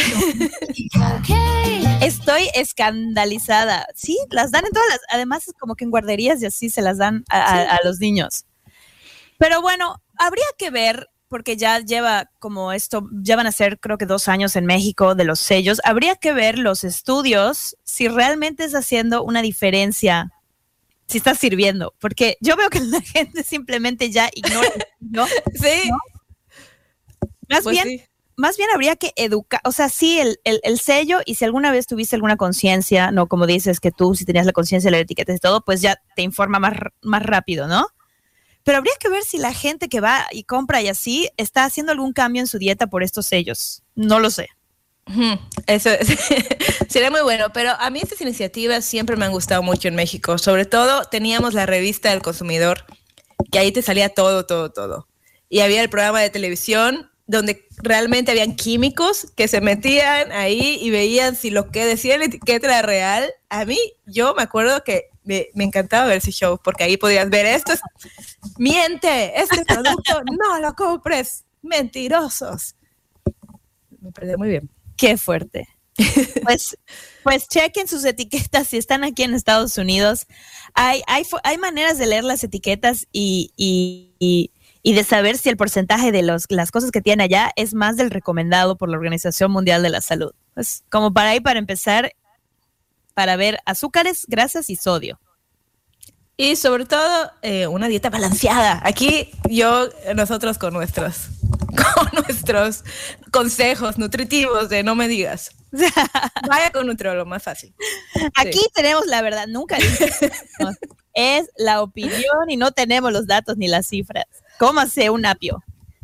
Speaker 2: Estoy escandalizada. Sí, las dan en todas las, además es como que en guarderías y así se las dan a, a, a los niños. Pero bueno, habría que ver, porque ya lleva como esto, ya van a ser creo que dos años en México de los sellos, habría que ver los estudios si realmente está haciendo una diferencia, si está sirviendo, porque yo veo que la gente simplemente ya ignora, ¿no?
Speaker 1: Sí.
Speaker 2: ¿No? Más
Speaker 1: Pues
Speaker 2: bien,
Speaker 1: sí.
Speaker 2: más bien habría que educar, o sea, sí, el, el, el sello, y si alguna vez tuviste alguna conciencia, no como dices que tú, si tenías la conciencia de la etiqueta y todo, pues ya te informa más, más rápido, ¿no? Pero habría que ver si la gente que va y compra y así está haciendo algún cambio en su dieta por estos sellos. No lo sé.
Speaker 1: Ujú, eso es. Sería muy bueno, pero a mí estas iniciativas siempre me han gustado mucho en México. Sobre todo teníamos la revista del consumidor, que ahí te salía todo, todo, todo. Y había el programa de televisión donde realmente habían químicos que se metían ahí y veían si lo que decía la etiqueta era real. A mí, yo me acuerdo que me, me encantaba ver ese show, porque ahí podías ver esto, es, miente, este producto no lo compres, mentirosos. Me perdí muy bien.
Speaker 2: Qué fuerte. Pues, pues chequen sus etiquetas si están aquí en Estados Unidos. Hay, hay, hay maneras de leer las etiquetas y, y, y y de saber si el porcentaje de los, las cosas que tiene allá es más del recomendado por la Organización Mundial de la Salud. Pues como para ahí, para empezar, para ver azúcares, grasas y sodio.
Speaker 1: Y sobre todo, eh, una dieta balanceada. Aquí yo, nosotros con nuestros, con nuestros consejos nutritivos de no me digas. Vaya con nutriólogo, más fácil.
Speaker 2: Aquí
Speaker 1: Sí.
Speaker 2: tenemos la verdad, nunca dijimos. Es la opinión y no tenemos los datos ni las cifras. Cómase un apio.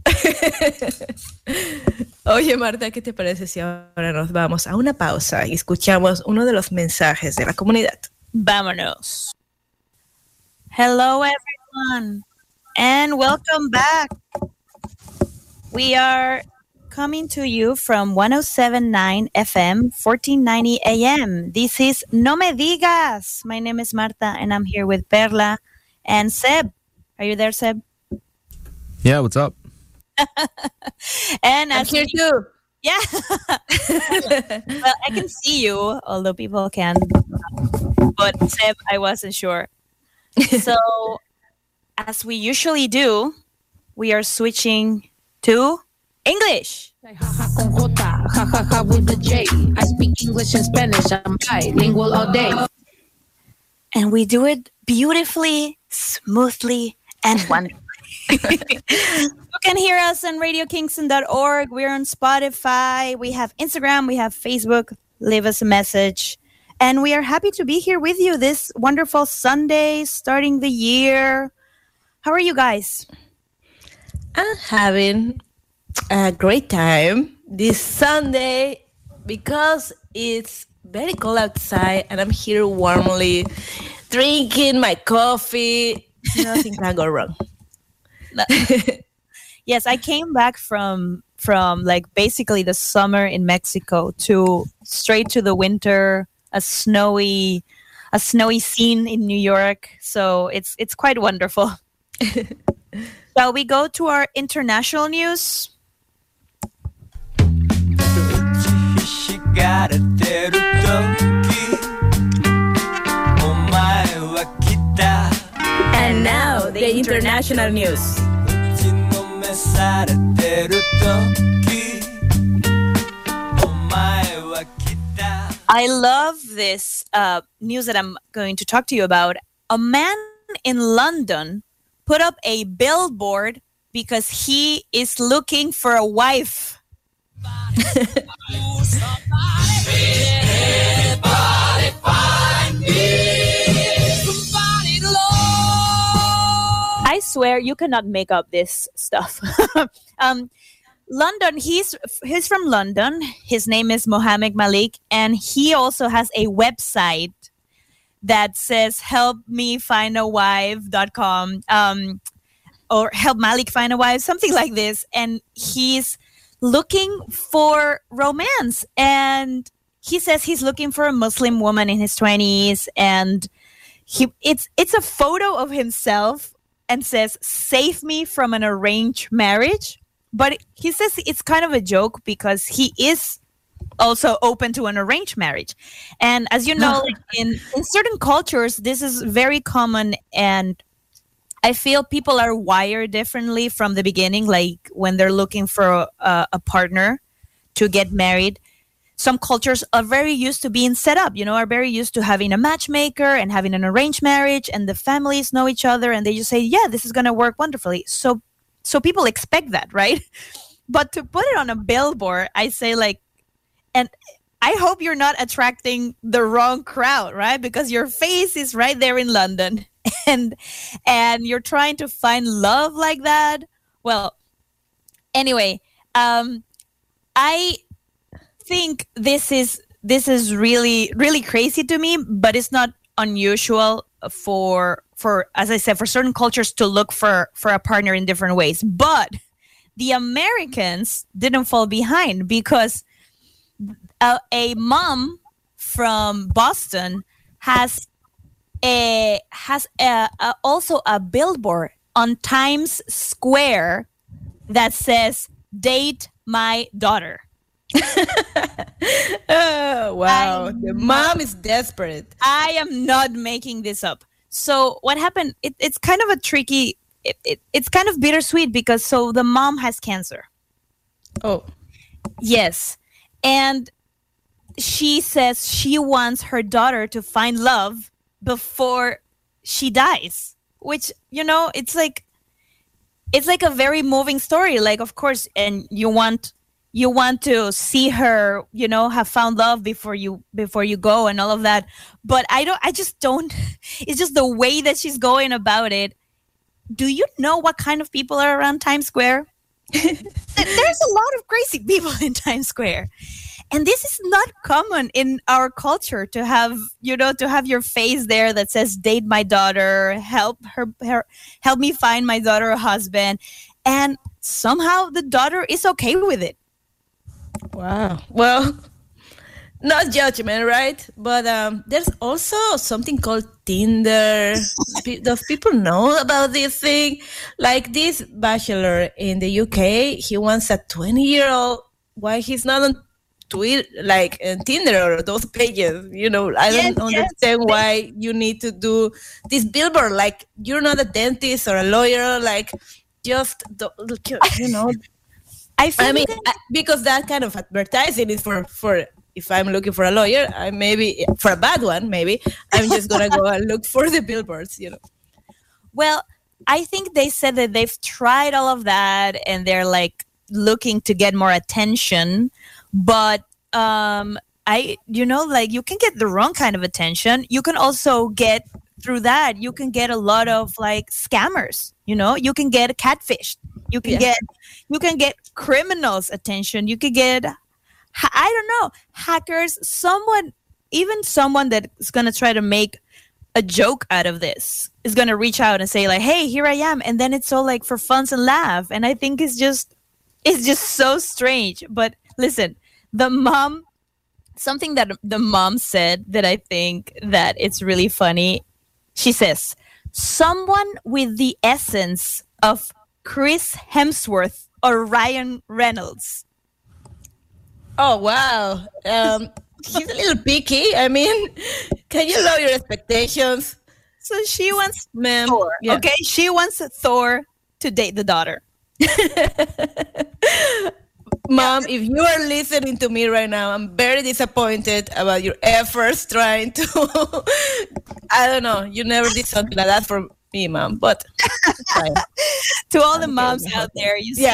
Speaker 1: Oye, Marta, ¿qué te parece si ahora nos vamos a una pausa y escuchamos uno de los mensajes de la comunidad?
Speaker 2: Vámonos. Hello, everyone, and welcome back. We are coming to you from one oh seven point nine F M, fourteen ninety A M. This is No Me Digas. My name is Marta, and I'm here with Perla and Seb. Are you there, Seb?
Speaker 3: Yeah, what's up?
Speaker 2: And
Speaker 1: I'm
Speaker 2: as
Speaker 1: here
Speaker 2: we-
Speaker 1: too.
Speaker 2: Yeah. Well, I can see you, although people can. But Seb, I wasn't sure. So, as we usually do, we are switching to English.
Speaker 7: Jaja con J, jajaja with the J. I speak English and Spanish. I'm bilingual all day.
Speaker 2: And we do it beautifully, smoothly, and wonderfully. You can hear us on radio kingston dot org. We're on Spotify. We have Instagram. We have Facebook. Leave us a message. And we are happy to be here with you this wonderful Sunday, starting the year. How are you guys?
Speaker 1: I'm having a great time this Sunday because it's very cold outside and I'm here warmly drinking my coffee. Nothing can go wrong.
Speaker 2: Yes, I came back from from like basically the summer in Mexico to straight to the winter a snowy a snowy scene in New York. So it's it's quite wonderful. Shall we go to our international news?
Speaker 1: And now the international news.
Speaker 2: I love this uh, news that I'm going to talk to you about. A man in London put up a billboard because he is looking for a wife. I swear you cannot make up this stuff. um, London, he's he's from London. His name is Mohammed Malik, and he also has a website that says help me find a wife dot com um, or help Malik find a wife, something like this. And he's looking for romance. And he says he's looking for a Muslim woman in his twenties. And he it's it's a photo of himself and says, save me from an arranged marriage. But he says it's kind of a joke because he is also open to an arranged marriage. And as you know, like in, in certain cultures, this is very common. And I feel people are wired differently from the beginning, like when they're looking for a, a partner to get married. Some cultures are very used to being set up, you know, are very used to having a matchmaker and having an arranged marriage, and the families know each other and they just say, yeah, this is going to work wonderfully. So So people expect that, right? But to put it on a billboard, I say like, and I hope you're not attracting the wrong crowd, right? Because your face is right there in London and and you're trying to find love like that. Well, anyway, um, I think this is this is really, really crazy to me, but it's not unusual for for as I said, for certain cultures to look for for a partner in different ways. But the Americans didn't fall behind, because a, a mom from Boston has a has a, a, also a billboard on Times Square that says "Date my daughter."
Speaker 1: Oh, wow.
Speaker 2: I'm
Speaker 1: The mom is desperate.
Speaker 2: I am not making this up. So what happened, it, it's kind of a tricky, it, it, it's kind of bittersweet, because so the mom has cancer.
Speaker 1: Oh.
Speaker 2: Yes. And she says she wants her daughter to find love before she dies, which, you know, it's like, it's like a very moving story. Like, of course, and you want... You want to see her, you know, have found love before you before you go and all of that. But I don't. I just don't. It's just the way that she's going about it. Do you know what kind of people are around Times Square? There's a lot of crazy people in Times Square, and this is not common in our culture to have, you know, to have your face there that says "Date my daughter," help her, her help me find my daughter a husband, and somehow the daughter is okay with it.
Speaker 1: Wow. Well, not judgment, right? But um, there's also something called Tinder. Pe- Does people know about this thing? Like this bachelor in the U K, he wants a twenty-year-old. Why he's not on Twitter, like on Tinder or those pages? You know, I
Speaker 2: Yes,
Speaker 1: don't
Speaker 2: yes.
Speaker 1: understand why you need to do this billboard. Like, you're not a dentist or a lawyer. Like, just, do- you know...
Speaker 2: I feel
Speaker 1: I mean,
Speaker 2: that-
Speaker 1: I- because that kind of advertising is for, for if I'm looking for a lawyer, I maybe for a bad one, maybe I'm just gonna go and look for the billboards, you know.
Speaker 2: Well, I think they said that they've tried all of that and they're like looking to get more attention, but um, I, you know, like you can get the wrong kind of attention. You can also get through that. You can get a lot of like scammers. You know, you can get catfished. You can
Speaker 1: Yeah.
Speaker 2: get, you can get criminals' attention. You could get, ha- I don't know, hackers. Someone, even someone that is gonna try to make a joke out of this is going to reach out and say like, hey, here I am. And then it's all like for funs and laugh. And I think it's just, it's just so strange. But listen, the mom something that the mom said that I think that it's really funny. She says, someone with the essence of Chris Hemsworth or Ryan Reynolds.
Speaker 1: Oh, wow. Um, he's a little picky. I mean, can you lower your expectations?
Speaker 2: So she wants
Speaker 1: Ma'am.
Speaker 2: Thor.
Speaker 1: Yeah.
Speaker 2: Okay, she wants Thor to date the daughter.
Speaker 1: Mom, if you are listening to me right now, I'm very disappointed about your efforts trying to, I don't know, you never did something like that for me, Mom, but it's fine.
Speaker 2: To all the
Speaker 1: I'm
Speaker 2: moms
Speaker 1: kidding.
Speaker 2: out there, you see,
Speaker 1: Yeah.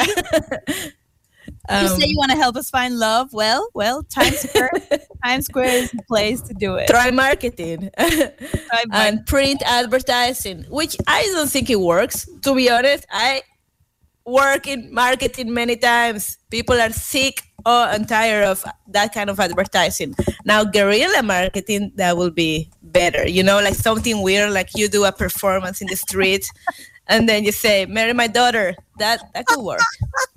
Speaker 2: you
Speaker 1: Um,
Speaker 2: say you want to help us find love. Well, well, Times Square, Times Square is the place to do it.
Speaker 1: try marketing
Speaker 2: Try
Speaker 1: and print advertising, which I don't think it works. To be honest, I work in marketing many times. People are sick oh, and tired of that kind of advertising. Now, guerrilla marketing, that will be better. You know, like something weird, like you do a performance in the street and then you say, marry my daughter. That that could work.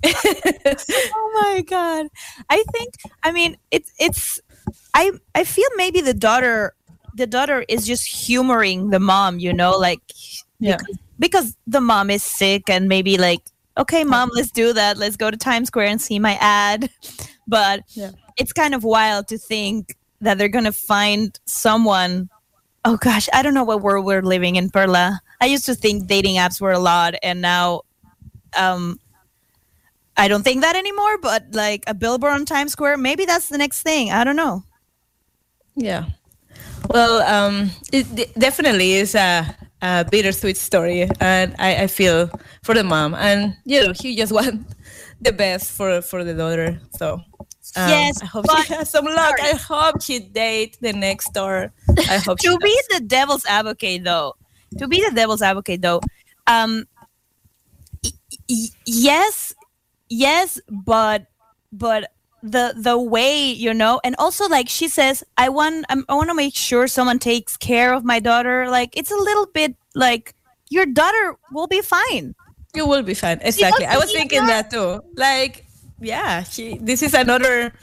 Speaker 2: Oh my god! I think. I mean, it's it's. I I feel maybe the daughter, the daughter is just humoring the mom. You know, like
Speaker 1: Yeah.
Speaker 2: because, because the mom is sick and maybe like, okay, mom, let's do that. Let's go to Times Square and see my ad. But
Speaker 1: Yeah.
Speaker 2: it's kind of wild to think that they're gonna find someone. Oh gosh, I don't know what world we're living in, Perla. I used to think dating apps were a lot, and now, um, I don't think that anymore. But like a billboard on Times Square, maybe that's the next thing. I don't know.
Speaker 1: Yeah. Well, um, it d- definitely is a, a bittersweet story, and I, I feel for the mom, and you know, he just want the best for for the daughter. So um,
Speaker 2: Yes,
Speaker 1: I hope
Speaker 2: but-
Speaker 1: she has some luck. I hope she date the next door. I hope she
Speaker 2: To be
Speaker 1: does.
Speaker 2: the devil's advocate, though, to be the devil's advocate, though, um, y- y- yes, yes, but but the the way, you know, and also like she says, I want I'm, I want to make sure someone takes care of my daughter. Like it's a little bit like your daughter will be fine.
Speaker 1: You will be fine. Exactly. I
Speaker 2: to
Speaker 1: was
Speaker 2: be
Speaker 1: thinking that too. Like, yeah, she. This is another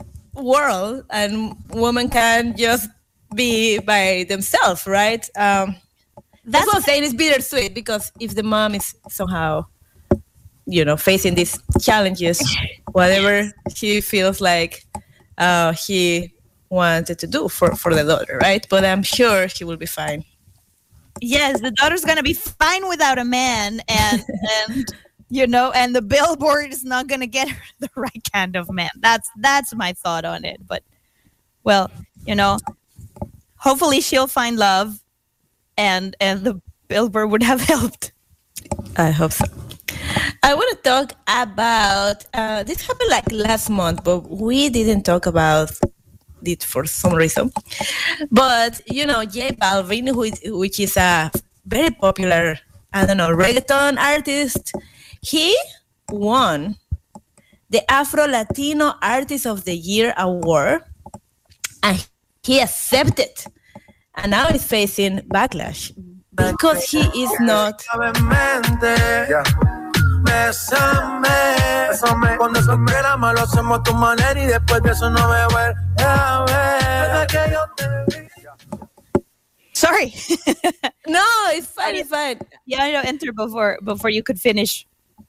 Speaker 1: world, and women can just be by themselves, right? Um, that's what I'm saying. It's bittersweet because if the mom is somehow, you know, facing these challenges, whatever she feels like uh, he wanted to do for for the daughter, right? But I'm sure she will be fine.
Speaker 2: Yes, the daughter's gonna be fine without a man, and and you know, and the billboard is not gonna get her the right kind of man. That's that's my thought on it. But well, you know, hopefully she'll find love, and and the billboard would have helped.
Speaker 1: I hope so. I want to talk about uh, this happened like last month, but we didn't talk about it for some reason. But you know, J Balvin, who is, which is a very popular, I don't know, reggaeton artist, he won the Afro Latino Artist of the Year award, and he accepted, and now he's facing backlash because he is not.
Speaker 5: Suavemente, bésame, bésame. Cuando se me lo hacemos a tu manera y después de eso no me vuelve a ver. Desde que yo te vi.
Speaker 2: Sorry.
Speaker 1: No, it's fine, it's fine.
Speaker 2: Yeah, I know, enter before before you could finish.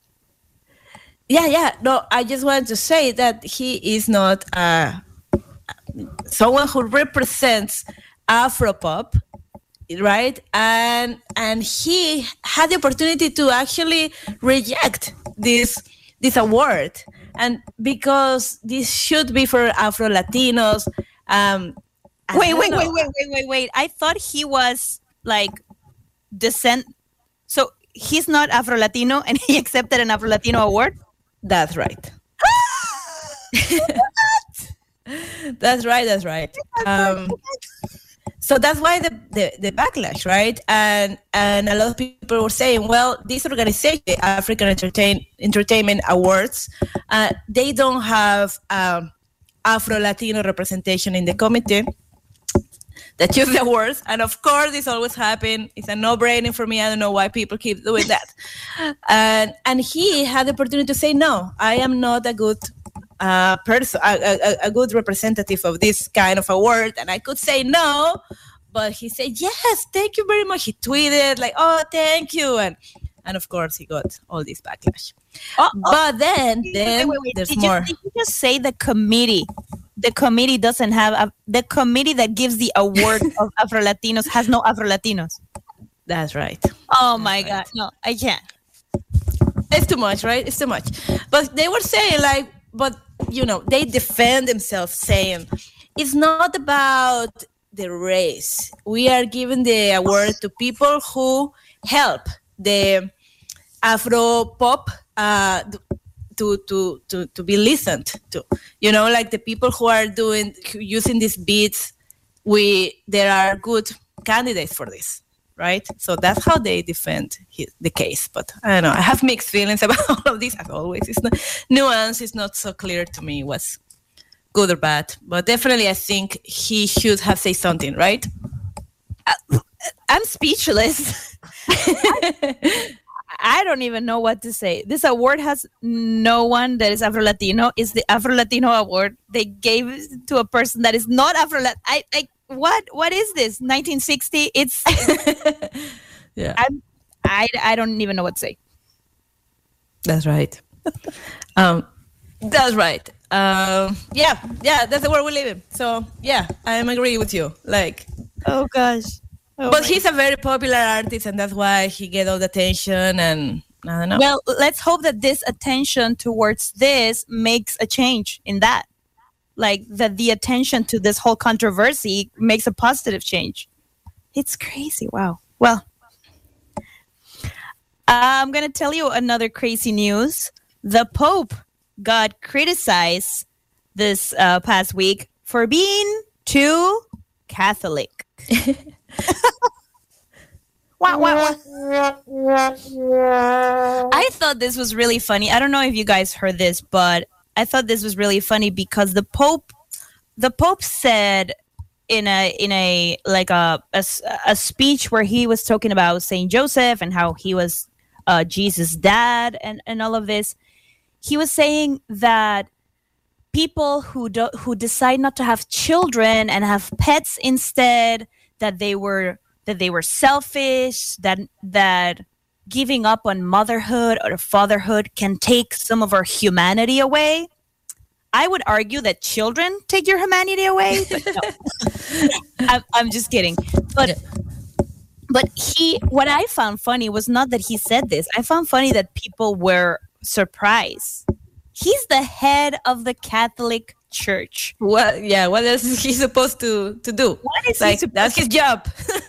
Speaker 1: Yeah, yeah. No, I just wanted to say that he is not uh, someone who represents Afropop, right? And and he had the opportunity to actually reject this this award, and because this should be for Afro Latinos. Um, I
Speaker 2: Wait,
Speaker 1: don't
Speaker 2: wait,
Speaker 1: know.
Speaker 2: wait, wait, wait, wait, wait. I thought he was like descent. So he's not Afro Latino, and he accepted an Afro Latino award.
Speaker 1: That's right. That's right. That's right. Um, so that's why the, the, the backlash, right? And and a lot of people were saying, well, this organization, the African Entertain, Entertainment Awards, uh, they don't have um, Afro-Latino representation in the committee that choose the awards. And of course, this always happens. It's a no-brainer for me. I don't know why people keep doing that. And and he had the opportunity to say, no, I am not a good a person, a, a, a good representative of this kind of award, and I could say no, but he said yes, thank you very much. He tweeted like, oh, thank you, and and of course he got all this backlash.
Speaker 2: Oh,
Speaker 1: but then,
Speaker 2: wait,
Speaker 1: then
Speaker 2: wait, wait.
Speaker 1: there's
Speaker 2: Did
Speaker 1: more.
Speaker 2: You, did you just say the committee? The committee doesn't have a, the committee that gives the award of Afro Latinos has no Afro Latinos.
Speaker 1: That's right.
Speaker 2: Oh my
Speaker 1: right.
Speaker 2: God, no, I can't.
Speaker 1: It's too much, right? It's too much. But they were saying like, but you know, they defend themselves saying it's not about the race. We are giving the award to people who help the Afro pop uh, to, to, to, to be listened to. You know, like the people who are doing, using these beats, we, there are good candidates for this. Right, so that's how they defend his, the case. But I don't know. I have mixed feelings about all of this. As always, it's not nuance. It's not so clear to me what's good or bad. But definitely, I think he should have said something. Right?
Speaker 2: I, I'm speechless. I, I don't even know what to say. This award has no one that is Afro Latino. It's the Afro Latino award. They gave it to a person that is not Afro Latino. I, I What what is this? nineteen sixty? It's
Speaker 1: yeah.
Speaker 2: I'm, I I don't even know what to say.
Speaker 1: That's right. um, that's right. Um, yeah, yeah. That's the world we live in. So yeah, I am agree with you. Like,
Speaker 2: oh gosh. Oh
Speaker 1: but he's a very popular artist, and that's why he get all the attention. And I don't know.
Speaker 2: Well, let's hope that this attention towards this makes a change in that. Like that the attention to this whole controversy makes a positive change. It's crazy. Wow. Well, I'm going to tell you another crazy news. The Pope got criticized this uh, past week for being too Catholic. Wow, wow, wow. I thought this was really funny. I don't know if you guys heard this, but I thought this was really funny because the Pope, the Pope said in a in a like a, a a speech where he was talking about Saint Joseph and how he was uh, Jesus' dad and, and all of this. He was saying that people who do, who decide not to have children and have pets instead, that they were that they were selfish, that that. giving up on motherhood or fatherhood can take some of our humanity away. I would argue that children take your humanity away, but no. I'm, I'm just kidding. But yeah. but he, what I found funny was not that he said this. I found funny that people were surprised. He's the head of the Catholic Church.
Speaker 1: What? Yeah. What else is he supposed to to do?
Speaker 2: What is
Speaker 1: like,
Speaker 2: he supposed
Speaker 1: that's his job.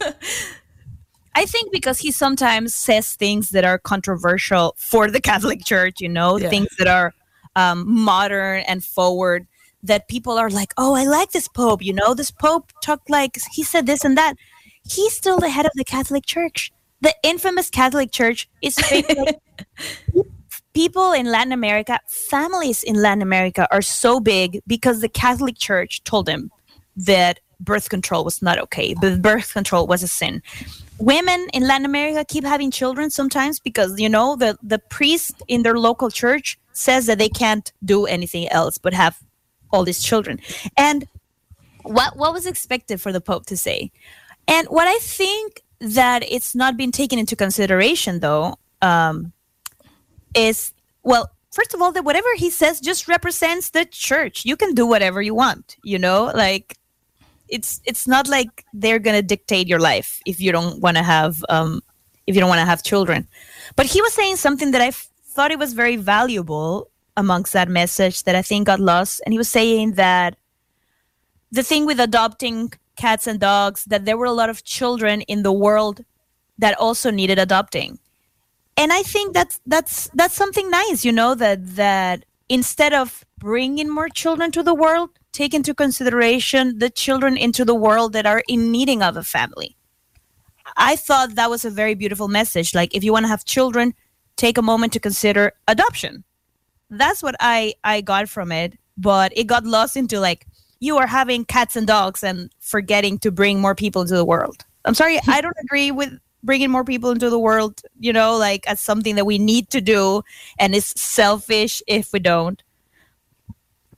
Speaker 2: I think because he sometimes says things that are controversial for the Catholic Church, you know, yeah. things that are um, modern and forward, that people are like, oh, I like this Pope, you know, this Pope talked like, he said this and that. He's still the head of the Catholic Church. The infamous Catholic Church is like, people in Latin America, families in Latin America are so big because the Catholic Church told them that birth control was not okay, but birth control was a sin. Women in Latin America keep having children sometimes because, you know, the, the priest in their local church says that they can't do anything else but have all these children. And what what was expected for the Pope to say? And what I think that it's not been taken into consideration, though, um, is, well, first of all, that whatever he says just represents the church. You can do whatever you want, you know, like, It's it's not like they're gonna dictate your life if you don't want to have um, if you don't want to have children. But he was saying something that I f- thought it was very valuable amongst that message that I think got lost. And he was saying that the thing with adopting cats and dogs, that there were a lot of children in the world that also needed adopting. And I think that's that's that's something nice, you know, that that instead of bringing more children to the world, take into consideration the children into the world that are in needing of a family. I thought that was a very beautiful message. Like, if you want to have children, take a moment to consider adoption. That's what I, I got from it. But it got lost into, like, you are having cats and dogs and forgetting to bring more people into the world. I'm sorry, I don't agree with bringing more people into the world, you know, like, as something that we need to do, and it's selfish if we don't.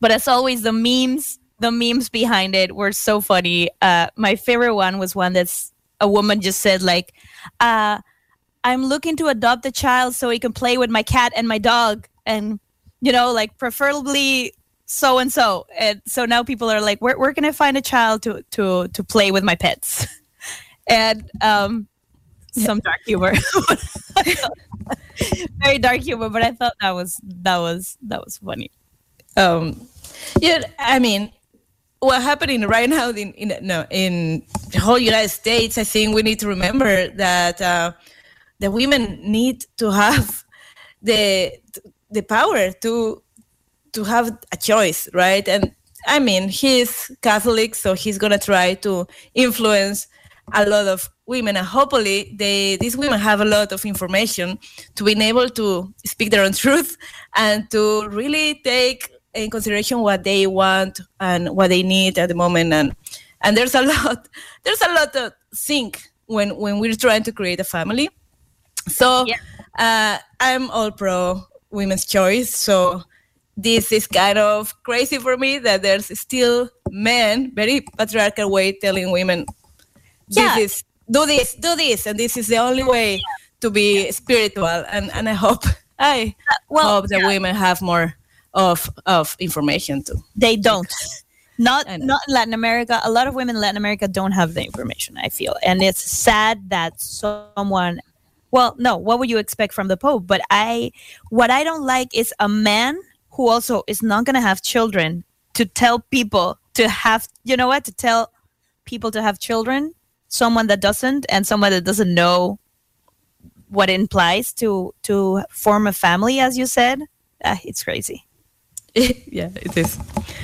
Speaker 2: But as always, the memes, the memes behind it were so funny. Uh, my favorite one was one that's a woman just said like, uh, I'm looking to adopt a child so he can play with my cat and my dog. And, you know, like preferably so and so. And so now people are like, where, where can I find a child to, to, to play with my pets? And um, some dark humor. Very dark humor, but I thought that was that was that was funny.
Speaker 1: Um, yeah, I mean, what's happening right now in, in no in the whole United States, I think we need to remember that uh, the women need to have the the power to to have a choice, right? And I mean, he's Catholic, so he's gonna try to influence a lot of women, and hopefully they these women have a lot of information to be able to speak their own truth and to really take in consideration what they want and what they need at the moment. And and there's a lot there's a lot of think when when we're trying to create a family. So yeah. uh, I'm all pro women's choice. So this is kind of crazy for me that there's still men, very patriarchal way, telling women, this
Speaker 2: yeah.
Speaker 1: is do this, do this, and this is the only way to be spiritual. And, and I hope I
Speaker 2: uh, well,
Speaker 1: hope that yeah. women have more of of information too.
Speaker 2: They don't. Not not in Latin America. A lot of women in Latin America don't have the information, I feel. And it's sad that someone well, no, what would you expect from the Pope? But I what I don't like is a man who also is not gonna have children to tell people to have you know what, to tell people to have children. Someone that doesn't, and someone that doesn't know what it implies to to form a family, as you said. Uh, it's crazy.
Speaker 1: Yeah, it is.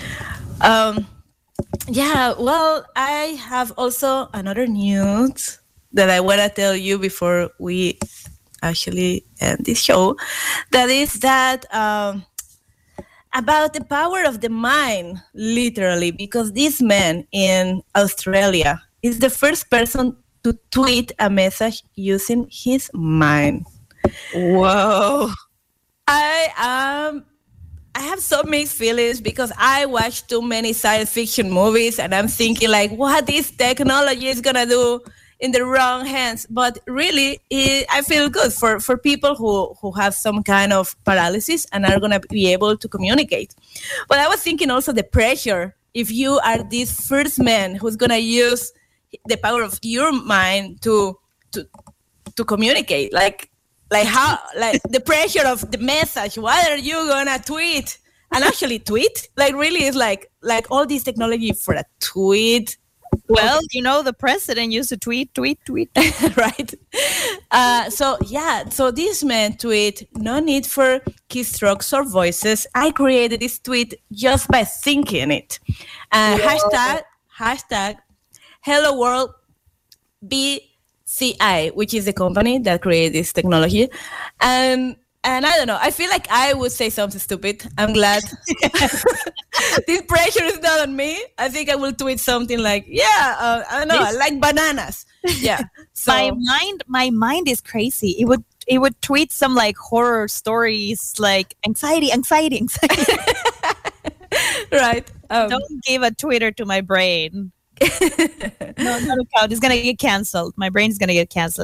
Speaker 1: Um, yeah, well, I have also another news that I want to tell you before we actually end this show. That is that um, about the power of the mind, literally, because this man in Australia is the first person to tweet a message using his mind.
Speaker 2: Whoa.
Speaker 1: I um I have so mixed feelings because I watch too many science fiction movies and I'm thinking like, what this technology is gonna do in the wrong hands. But really, it, I feel good for, for people who, who have some kind of paralysis and are gonna be able to communicate. But I was thinking also the pressure if you are this first man who's gonna use the power of your mind to to to communicate, like like how like the pressure of the message. What are you gonna tweet? And actually tweet, like really is like like all this technology for a tweet.
Speaker 2: Well, okay. You know, the president used to tweet, tweet, tweet,
Speaker 1: right? Uh, so yeah, so this man tweet, no need for keystrokes or voices. I created this tweet just by thinking it. Uh, hashtag hashtag Hello World B C I, which is the company that created this technology. And and I don't know, I feel like I would say something stupid. I'm glad this pressure is not on me. I think I will tweet something like, yeah, uh, I don't know, I like bananas. Yeah. So
Speaker 2: my mind, my mind is crazy. It would it would tweet some like horror stories, like anxiety, anxiety, anxiety.
Speaker 1: Right. Um,
Speaker 2: Don't give a Twitter to my brain. No, not account. It's gonna get canceled. My brain's gonna get canceled.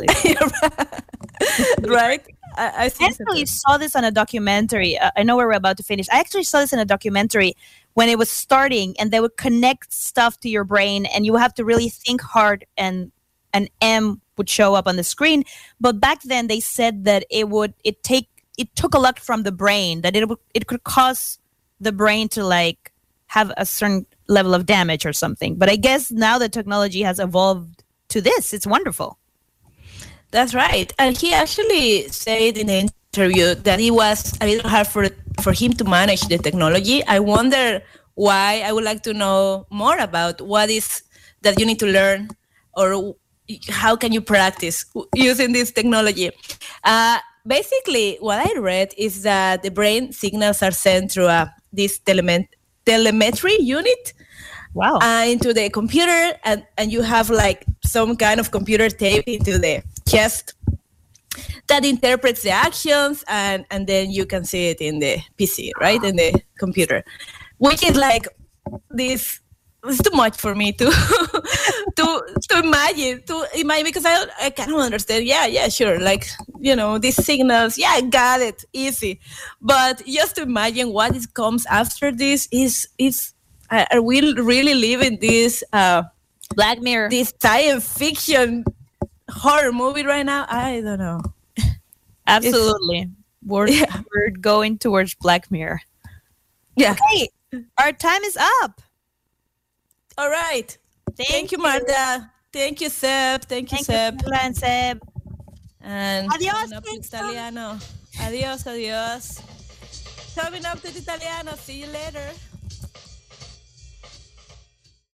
Speaker 1: Right. I, I
Speaker 2: actually saw this on a documentary. Uh, I know we're about to finish. I actually saw this in a documentary when it was starting, and they would connect stuff to your brain, and you have to really think hard, and an M would show up on the screen. But back then, they said that it would it take it took a lot from the brain, that it would it could cause the brain to like have a certain level of damage or something. But I guess now the technology has evolved to this. It's wonderful.
Speaker 1: That's right. And he actually said in the interview that it was a little hard for for him to manage the technology. I wonder why. I would like to know more about what is that you need to learn, or how can you practice using this technology. Uh, basically, what I read is that the brain signals are sent through a, this telemet- telemetry unit.
Speaker 2: Wow.
Speaker 1: Uh, into the computer, and, and you have like some kind of computer tape into the chest that interprets the actions, and, and then you can see it in the P C, right, in the computer. which is like this. It's too much for me to to to imagine to imagine because I I kind of understand. Yeah, yeah, sure. Like, you know, these signals. Yeah, I got it, easy. But just to imagine what is comes after this is is are we really living this uh,
Speaker 2: Black Mirror,
Speaker 1: this science fiction horror movie right now? I don't know.
Speaker 2: Absolutely, we're
Speaker 1: yeah.
Speaker 2: we're going towards Black Mirror.
Speaker 1: Yeah.
Speaker 2: Okay, our time is up.
Speaker 1: All right.
Speaker 2: Thank,
Speaker 1: Thank you,
Speaker 2: you.
Speaker 1: Marta. Thank you, Seb. Thank you,
Speaker 2: Thank
Speaker 1: Seb.
Speaker 2: you, Carla and Seb.
Speaker 1: And
Speaker 2: Adios,
Speaker 1: coming up to Italiano. Adios, adios. Coming up to Italiano. See you later.